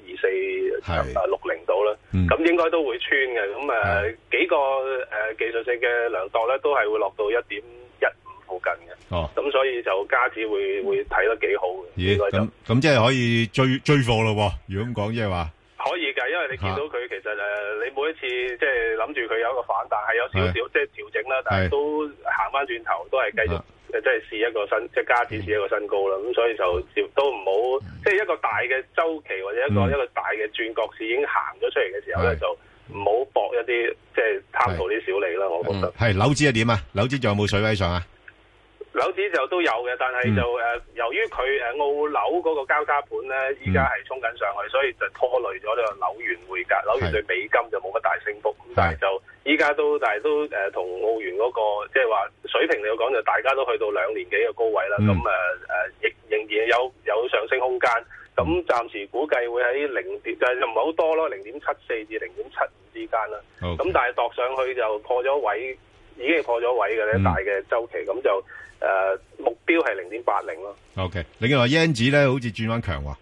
，1.2460度啦。咁應該都會穿嘅。咁幾個技術性嘅量度咧，都係會落到1.15附近嘅。咁所以就加指會睇得幾好嘅。 咦？咁即係可以追貨咯？如果咁講，即係話可以㗎，因為你見到佢其實你每一次即係諗住佢有一個反彈，係有少少即係調整啦，但係都行翻轉頭，都係繼續即係試一個新，即係加指試一個新高啦。咁所以就都唔好，即係一個大嘅週期或者一個大嘅轉角市已經行咗出嚟嘅時候咧，就唔好搏一啲即係貪圖啲小利啦。我覺得係樓指係點啊？樓指仲有冇水位上啊？ 樓指就都有嘅，但係就由於佢澳樓嗰個交叉盤咧，依家係衝緊上去，所以就拖累咗呢個紐元匯價。紐元對美金就冇乜大升幅，但係就依家都同澳元嗰個即係話水平嚟講，就大家都去到2年幾嘅高位啦。咁亦仍然有上升空間。咁暫時估計會喺就唔係好多咯，0.74至0.75之間啦。咁但係度上去就破咗位，已經係破咗位嘅咧，大嘅週期咁就。目標係0.80咯。 OK， 另外 yen 紙咧好似轉彎強喎。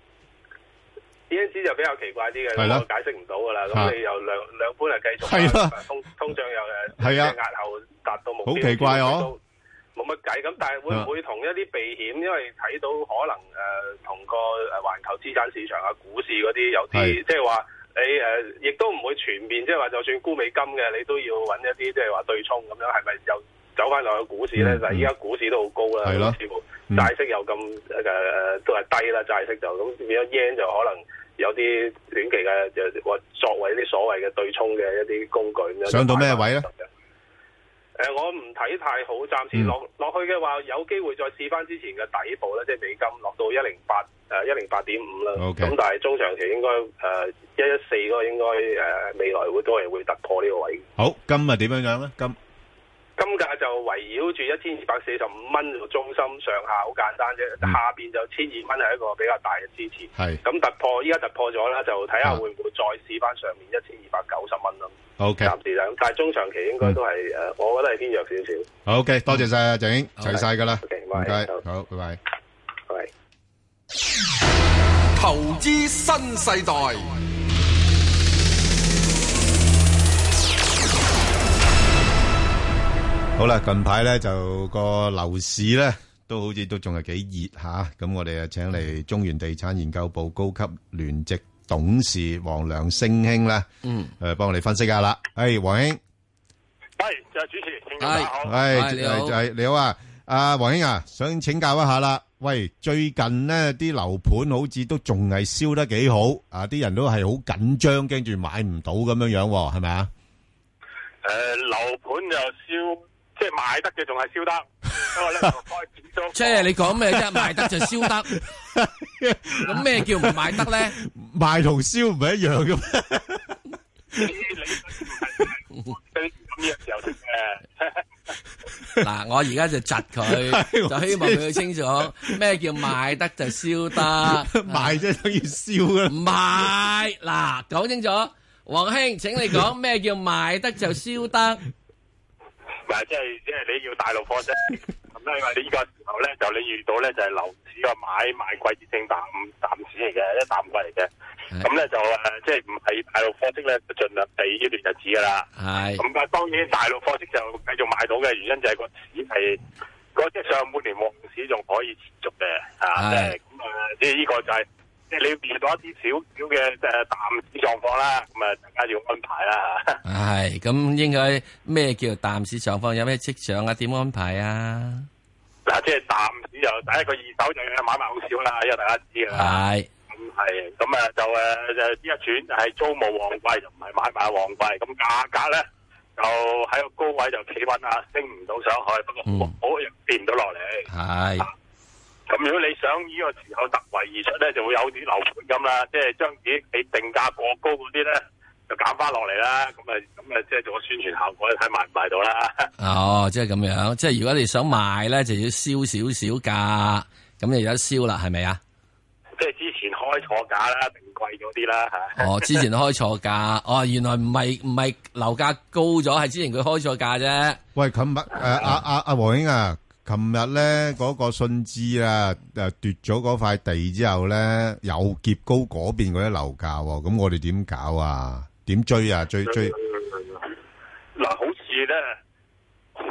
yen 紙就比較奇怪啲嘅，我解釋唔到噶啦。咁你又兩盤係繼續，通脹又即係押後達到目標，好奇怪哦。冇乜計咁，但係會唔會同一啲避險？因為睇到可能同個環球資產市場啊、股市嗰啲有啲，即係話你亦都唔會全面，即係話就算沽美金嘅，你都要揾一啲即係話對沖咁樣，係咪又？走翻落去股市咧，但係依家股市都好高啦，似乎債息又咁都係低啦，債息就咁變咗 yen 就可能有啲短期嘅就話作為啲所謂嘅對沖嘅一啲工具咁樣。 上到咩位咧？ 我唔睇太好，暫時落去嘅話，有機會再試翻之前嘅底部咧，即係美金落到108.5啦。咁但係中長期應該114嗰個應該未來都係會突破呢個位。 好，金啊點樣樣咧？ 金價就圍繞住1245蚊做中心，上下好簡單啫。下邊就1200蚊係一個比較大嘅支持。咁突破，依家突破咗啦，就睇下會唔會再試翻上面1290蚊咯。 OK， 暫時就，但係中長期應該都係我覺得係偏弱少少。 OK，多謝晒啊，鄭英，齊晒噶啦。唔該，好，拜拜。 拜。 投資新世代。 好啦，近排咧就個樓市咧都好似都仲係幾熱吓，咁我哋啊請嚟中原地產研究部高級聯席董事黃良升兄咧，幫我哋分析下啦。黃兄， 就係主持，大家好， 你好啊，阿黃兄啊，想請教一下啦。喂，最近呢啲樓盤好似都仲係燒得幾好，啲人都係好緊張，驚住買唔到咁樣樣，係咪啊？ 樓盤就燒。即係賣得嘅仲係燒得，不過咧就開始咗。 即係你講咩啫？賣得就燒得，咁咩叫唔賣得咧？ 賣同燒唔係一樣嘅咩？ 你咁嘅時候食嘅。 嗱，我而家就窒佢，就希望佢清楚咩叫賣得就燒得， 賣即係等於燒啊！ 唔係，嗱，講清楚，黃兄，請你講咩叫賣得就燒得。 即係你要大陸貨啫，咁咧因為你呢個時候咧就你遇到咧就係樓市個買賣季節性淡市嚟嘅，一淡季嚟嘅，咁咧就即係唔係大陸貨色咧，就盡量避呢段日子噶啦。係。咁但係當然大陸貨色就繼續買到嘅原因就係個市係即係上半年旺市仲可以持續嘅，係。即係呢個就係。即係你要遇到一啲少少嘅淡市狀況啦，咁啊大家要安排啦。 係咁應該咩叫淡市狀況？有咩跡象啊？點安排啊？ 嗱，即係淡市就第一個二手就買賣好少啦，因為大家知噶啦。係。咁啊就呢一轉係租務旺季，就唔係買賣旺季。咁價格咧就喺個高位就企穩啦，升唔到上去，不過好跌唔到落嚟。係。咁如果你想呢個時候突圍而出咧，就會有啲樓盤咁啦，即係將自己俾定價過高嗰啲咧，就減翻落嚟啦。咁啊，即係做個宣傳效果，睇賣唔賣到啦。 哦，即係咁樣，即係如果你想賣咧，就要燒少少價，咁就有得燒啦，係咪啊？ 即係之前開錯價啦，定貴咗啲啦嚇。 哦，之前開錯價，哦，原來唔係樓價高咗，係之前佢開錯價啫。 喂，琴日阿黃兄啊。琴日咧嗰個信置啊，奪咗嗰塊地之後咧，又劫高嗰邊嗰啲樓價，咁我哋點搞啊？點追啊？追？ 嗱，好似咧去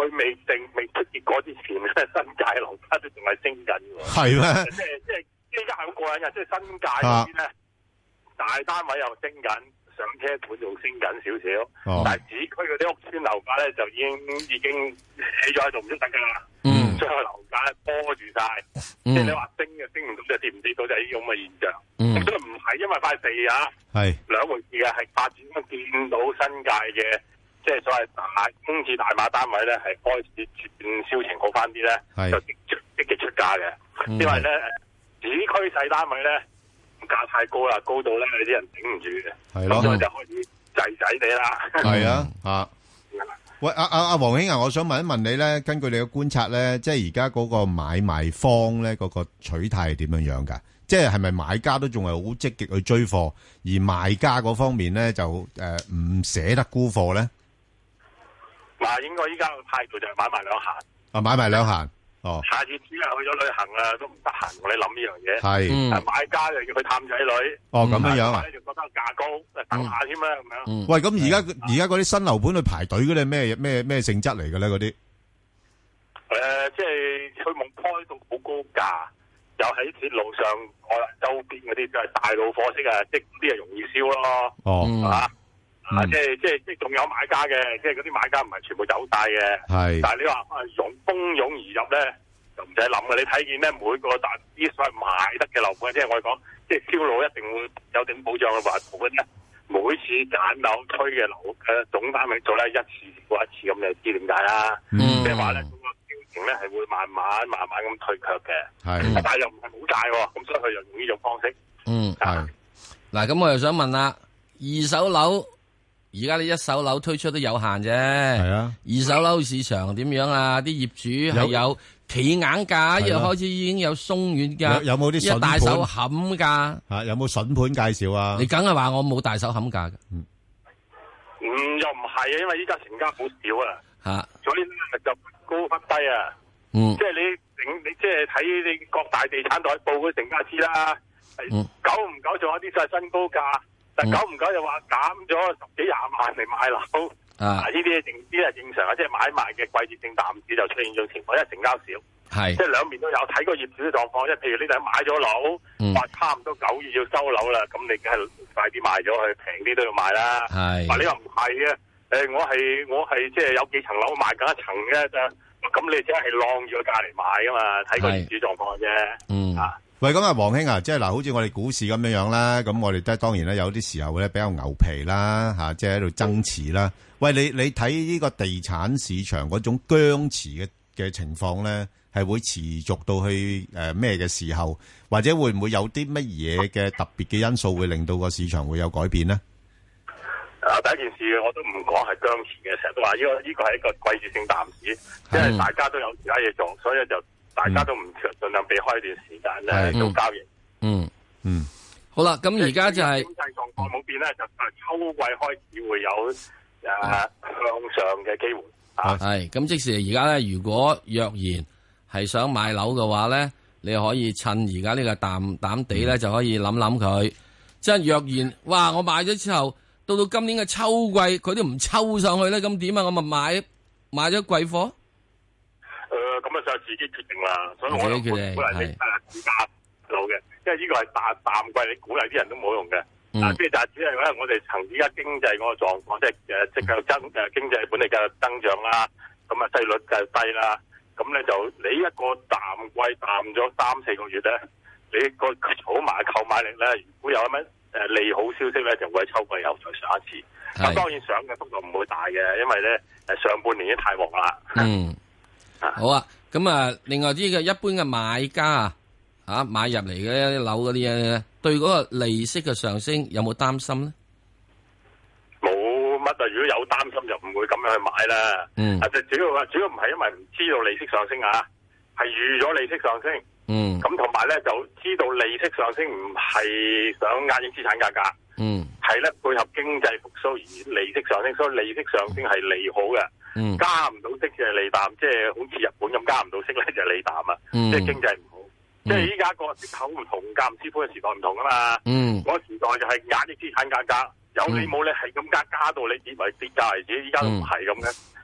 佢未出結果之前咧，新界樓價都仲係升緊喎。 係咩？ 即係依家係好過癮嘅，即係新界嗰啲咧，大單位又升緊，上車盤仲升緊少少。但係市區嗰啲屋邨樓價咧就已經起咗喺度唔喐得㗎啦。將個樓價拖住晒，即係你話升就升唔到，就跌唔跌到就係呢種咁嘅現象。咁所以唔係因為塊地啊，係兩回事嘅，係發展咗見到新界嘅。即係所謂空置大碼單位咧，係開始轉銷情好翻啲咧，就積極出價嘅。因為咧市區細單位咧價太高啦，高到咧有啲人頂唔住嘅，係咯，咁所以就開始滯滯地啦。係啊， 喂，阿黃兄啊，我想問一問你咧，根據你嘅觀察咧，即係而家嗰個買賣方咧嗰個取態係點樣樣㗎？即係咪買家都仲係好積極去追貨，而賣家嗰方面咧就唔捨得沽貨咧？ 嗱，應該依家個態度就係買賣兩閒。 啊，買賣兩閒。哦。 下次只係去咗旅行啦，都唔得閒同你諗呢樣嘢。 係。 買家就要去探仔女。 哦，咁樣樣啊。 就覺得價高，等下添啦咁樣。 喂，咁而家嗰啲新樓盤去排隊嗰啲咩性質嚟嘅咧？嗰啲？ 即係佢冇開到好高價，又喺鐵路上周邊嗰啲就係大路貨色啊，即係啲係容易燒咯。哦。係嘛？即係仲有買家嘅，即係嗰啲買家唔係全部走晒嘅。係，但係你話蜂擁而入咧，就唔使諗嘅。你睇見咧，每個啲所謂賣得嘅樓盤，即係我哋講，即係銷路一定會有頂保障嘅話，嗰啲每次揀樓推嘅樓總單位做咧一次過一次咁，你知點解啦？即係話咧，嗰個銷情咧係會慢慢咁退卻嘅。係，但係又唔係冇債喎，咁所以佢就用呢種方式。 係。嗱，咁我又想問啦，二手樓。而家你一手樓推出都有限啫，係啊。二手樓市場點樣啊？啲業主係有企硬價，一開始已經有鬆軟價， 有冇啲筍盤？ 大手冚價吓，有冇筍盤介紹啊？ 你梗係話我冇大手冚價嘅， 又唔係啊，因為依家成交好少啊，吓，所以就高忽低啊，即係你即係睇你各大地產代報嗰成交知啦，久唔久仲有啲就係新高價。但久唔久又話減咗10幾20萬嚟買樓，呢啲係正常啊！即係買賣嘅季節性淡市就出現咗情況，因為成交少，係即係兩邊都有睇個業主嘅狀況。即係譬如你哋買咗樓，話差唔多9月要收樓啦，咁你梗係快啲賣咗去，平啲都要賣啦。係，話你又唔係嘅，我係即係有幾層樓賣緊一層嘅，咁你只係晾住個價嚟買噶嘛，睇個業主狀況啫。 喂，咁啊，黃兄啊，即係嗱，好似我哋股市咁樣樣啦，咁我哋都當然咧有啲時候咧比較牛皮啦，吓，即係喺度爭持啦。喂，你睇呢個地產市場嗰種僵持嘅情況咧，係會持續到去咩嘅時候，或者會唔會有啲乜嘢嘅特別嘅因素會令到個市場會有改變呢？ 第一件事我都唔講係僵持嘅，成日都話呢個係一個季節性淡市，即係大家都有其他嘢做，所以就。大家都唔盡量避開一段時間咧做交易。 好啦，咁而家就係經濟狀況冇變咧，就秋季開始會有向上嘅機會。 係咁，即時而家咧，如果若然係想買樓嘅話咧，你可以趁而家呢個淡地咧，就可以諗諗佢。即係若然，哇！我買咗之後，到今年嘅秋季，佢都唔抽上去咧，咁點啊？我咪買咗貴貨。 咁啊就自己決定啦，所以我都鼓勵你自家樓嘅，因為呢個係淡季，你鼓勵啲人都冇用嘅。即係只係咧，我哋憑而家經濟嗰個狀況，即係經濟本地嘅增長啦，咁啊息率就低啦，咁咧就你一個淡季淡咗3-4個月咧，你個儲埋購買力咧，如果有乜利好消息咧，就會喺秋季又再上一次。咁當然上嘅幅度唔會大嘅，因為咧上半年已經太旺啦。 好啊，咁啊，另外啲嘅一般嘅買家買入嚟嘅樓嗰啲嘢，對嗰個利息嘅上升有冇擔心咧？ 冇乜啊，如果有擔心就唔會咁樣去買啦。主要唔係因為唔知道利息上升啊，係預咗利息上升。咁同埋咧就知道利息上升唔係想壓抑資產價格。係咧配合經濟復甦而利息上升，所以利息上升係利好嘅。加唔到息就係利淡，即係好似日本咁加唔到息咧就係利淡啊！即係經濟唔好，即係依家個息口唔同，價唔知寬嘅時代唔同啊嘛。嗰個時代就係壓抑資產價格，有理冇理係咁加到你以為跌價為止，依家都唔係咁嘅。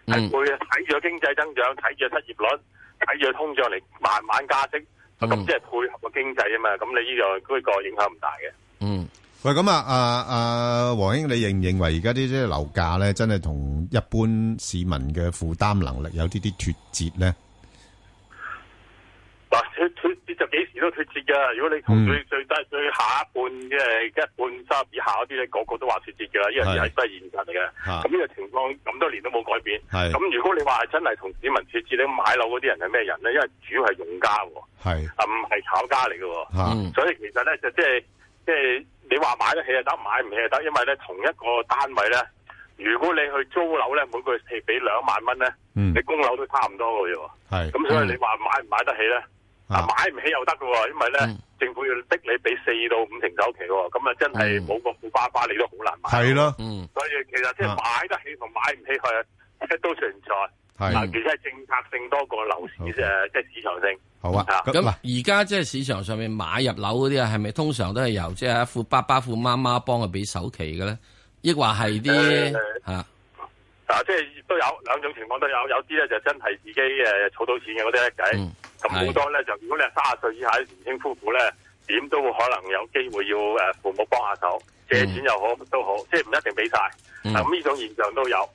係會睇住經濟增長，睇住失業率，睇住通脹嚟慢慢加息，咁即係配合個經濟啊嘛。咁你呢個影響唔大嘅。 嗯，喂，咁黃兄，你認為而家啲即係樓價咧，真係同一般市民嘅負擔能力有啲脫節咧？ 嗱，脫節就幾時都脫節噶。如果你同最低最下一半即係一半收入以下嗰啲咧，個個都話脫節噶啦，呢樣嘢係真係現實嚟嘅。咁呢個情況咁多年都冇改變。咁如果你話真係同市民脫節，你買樓嗰啲人係咩人咧？因為主要係用家，唔係炒家嚟嘅。所以其實咧就即係你話買得起就得，買唔起就得。因為咧同一個單位咧，如果你去租樓咧，每個月係俾2萬蚊咧，你供樓都差唔多嘅啫。咁所以你話買唔買得起咧？買唔起又得嘅，因為咧政府要逼你俾4到5成首期，咁啊真係冇個富爸爸你都好難買。 係咯， 所以其實即係買得起同買唔起係都存在。其實係政策性多過樓市即係市場性。 好啊， 咁而家即係市場上面買入樓嗰啲啊，係咪通常都係由即係富爸爸富媽媽幫佢俾首期嘅咧？抑或係啲即係都有兩種情況都有，有啲咧就真係自己儲到錢嘅嗰啲咧計，咁好多咧就如果你係30歲以下啲年輕夫婦咧，點都可能有機會要父母幫下手，借錢又好都好，即係唔一定俾晒。咁呢種現象都有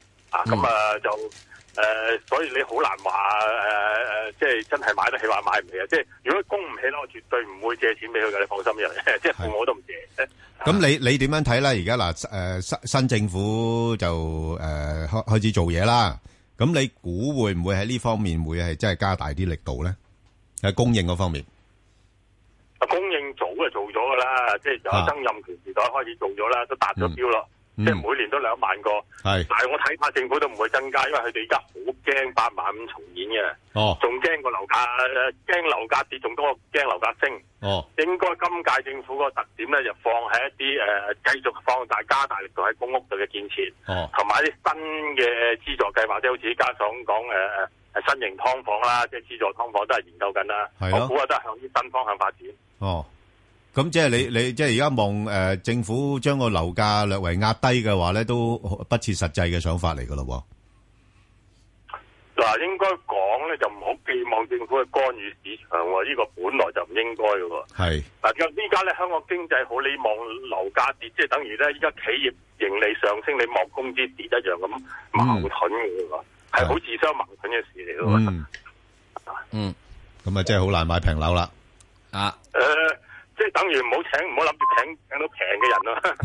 所以你好難話即係真係買得起話買唔起啊！即係如果供唔起咧，我絕對唔會借錢俾佢嘅，你放心嘅，即係父母都唔借。 咁你點樣睇咧？而家嗱新政府就開始做嘢啦。咁你估會唔會喺呢方面會係真係加大啲力度咧？喺供應嗰方面， 供應早就做咗噶啦，即係由曾蔭權時代開始做咗啦，都達咗標咯。即係每年都2萬個，但係我睇怕政府都唔會增加，因為佢哋而家好驚8萬5重演嘅，仲驚個樓價，驚樓價跌，仲多驚樓價升。應該今屆政府個特點咧，就放喺一啲繼續放大加大力度喺公屋度嘅建設，同埋一啲新嘅資助計劃，即係好似家長講新型劏房啦，即係資助劏房都係研究緊啦。我估都係向啲新方向發展。 咁即係你即係而家望政府將個樓價略為壓低嘅話咧，都不切實際嘅想法嚟噶咯。 嗱，應該講咧就唔好寄望政府去干預市場喎，呢個本來就唔應該嘅喎。係嗱，依家咧香港經濟好，你望樓價跌，即係等於咧依家企業盈利上升，你望工資跌一樣咁矛盾嘅喎，係好自相矛盾嘅事嚟嘅喎。 咁啊，真係好難買平樓啦。 即係等於唔好諗住請到平嘅人咯。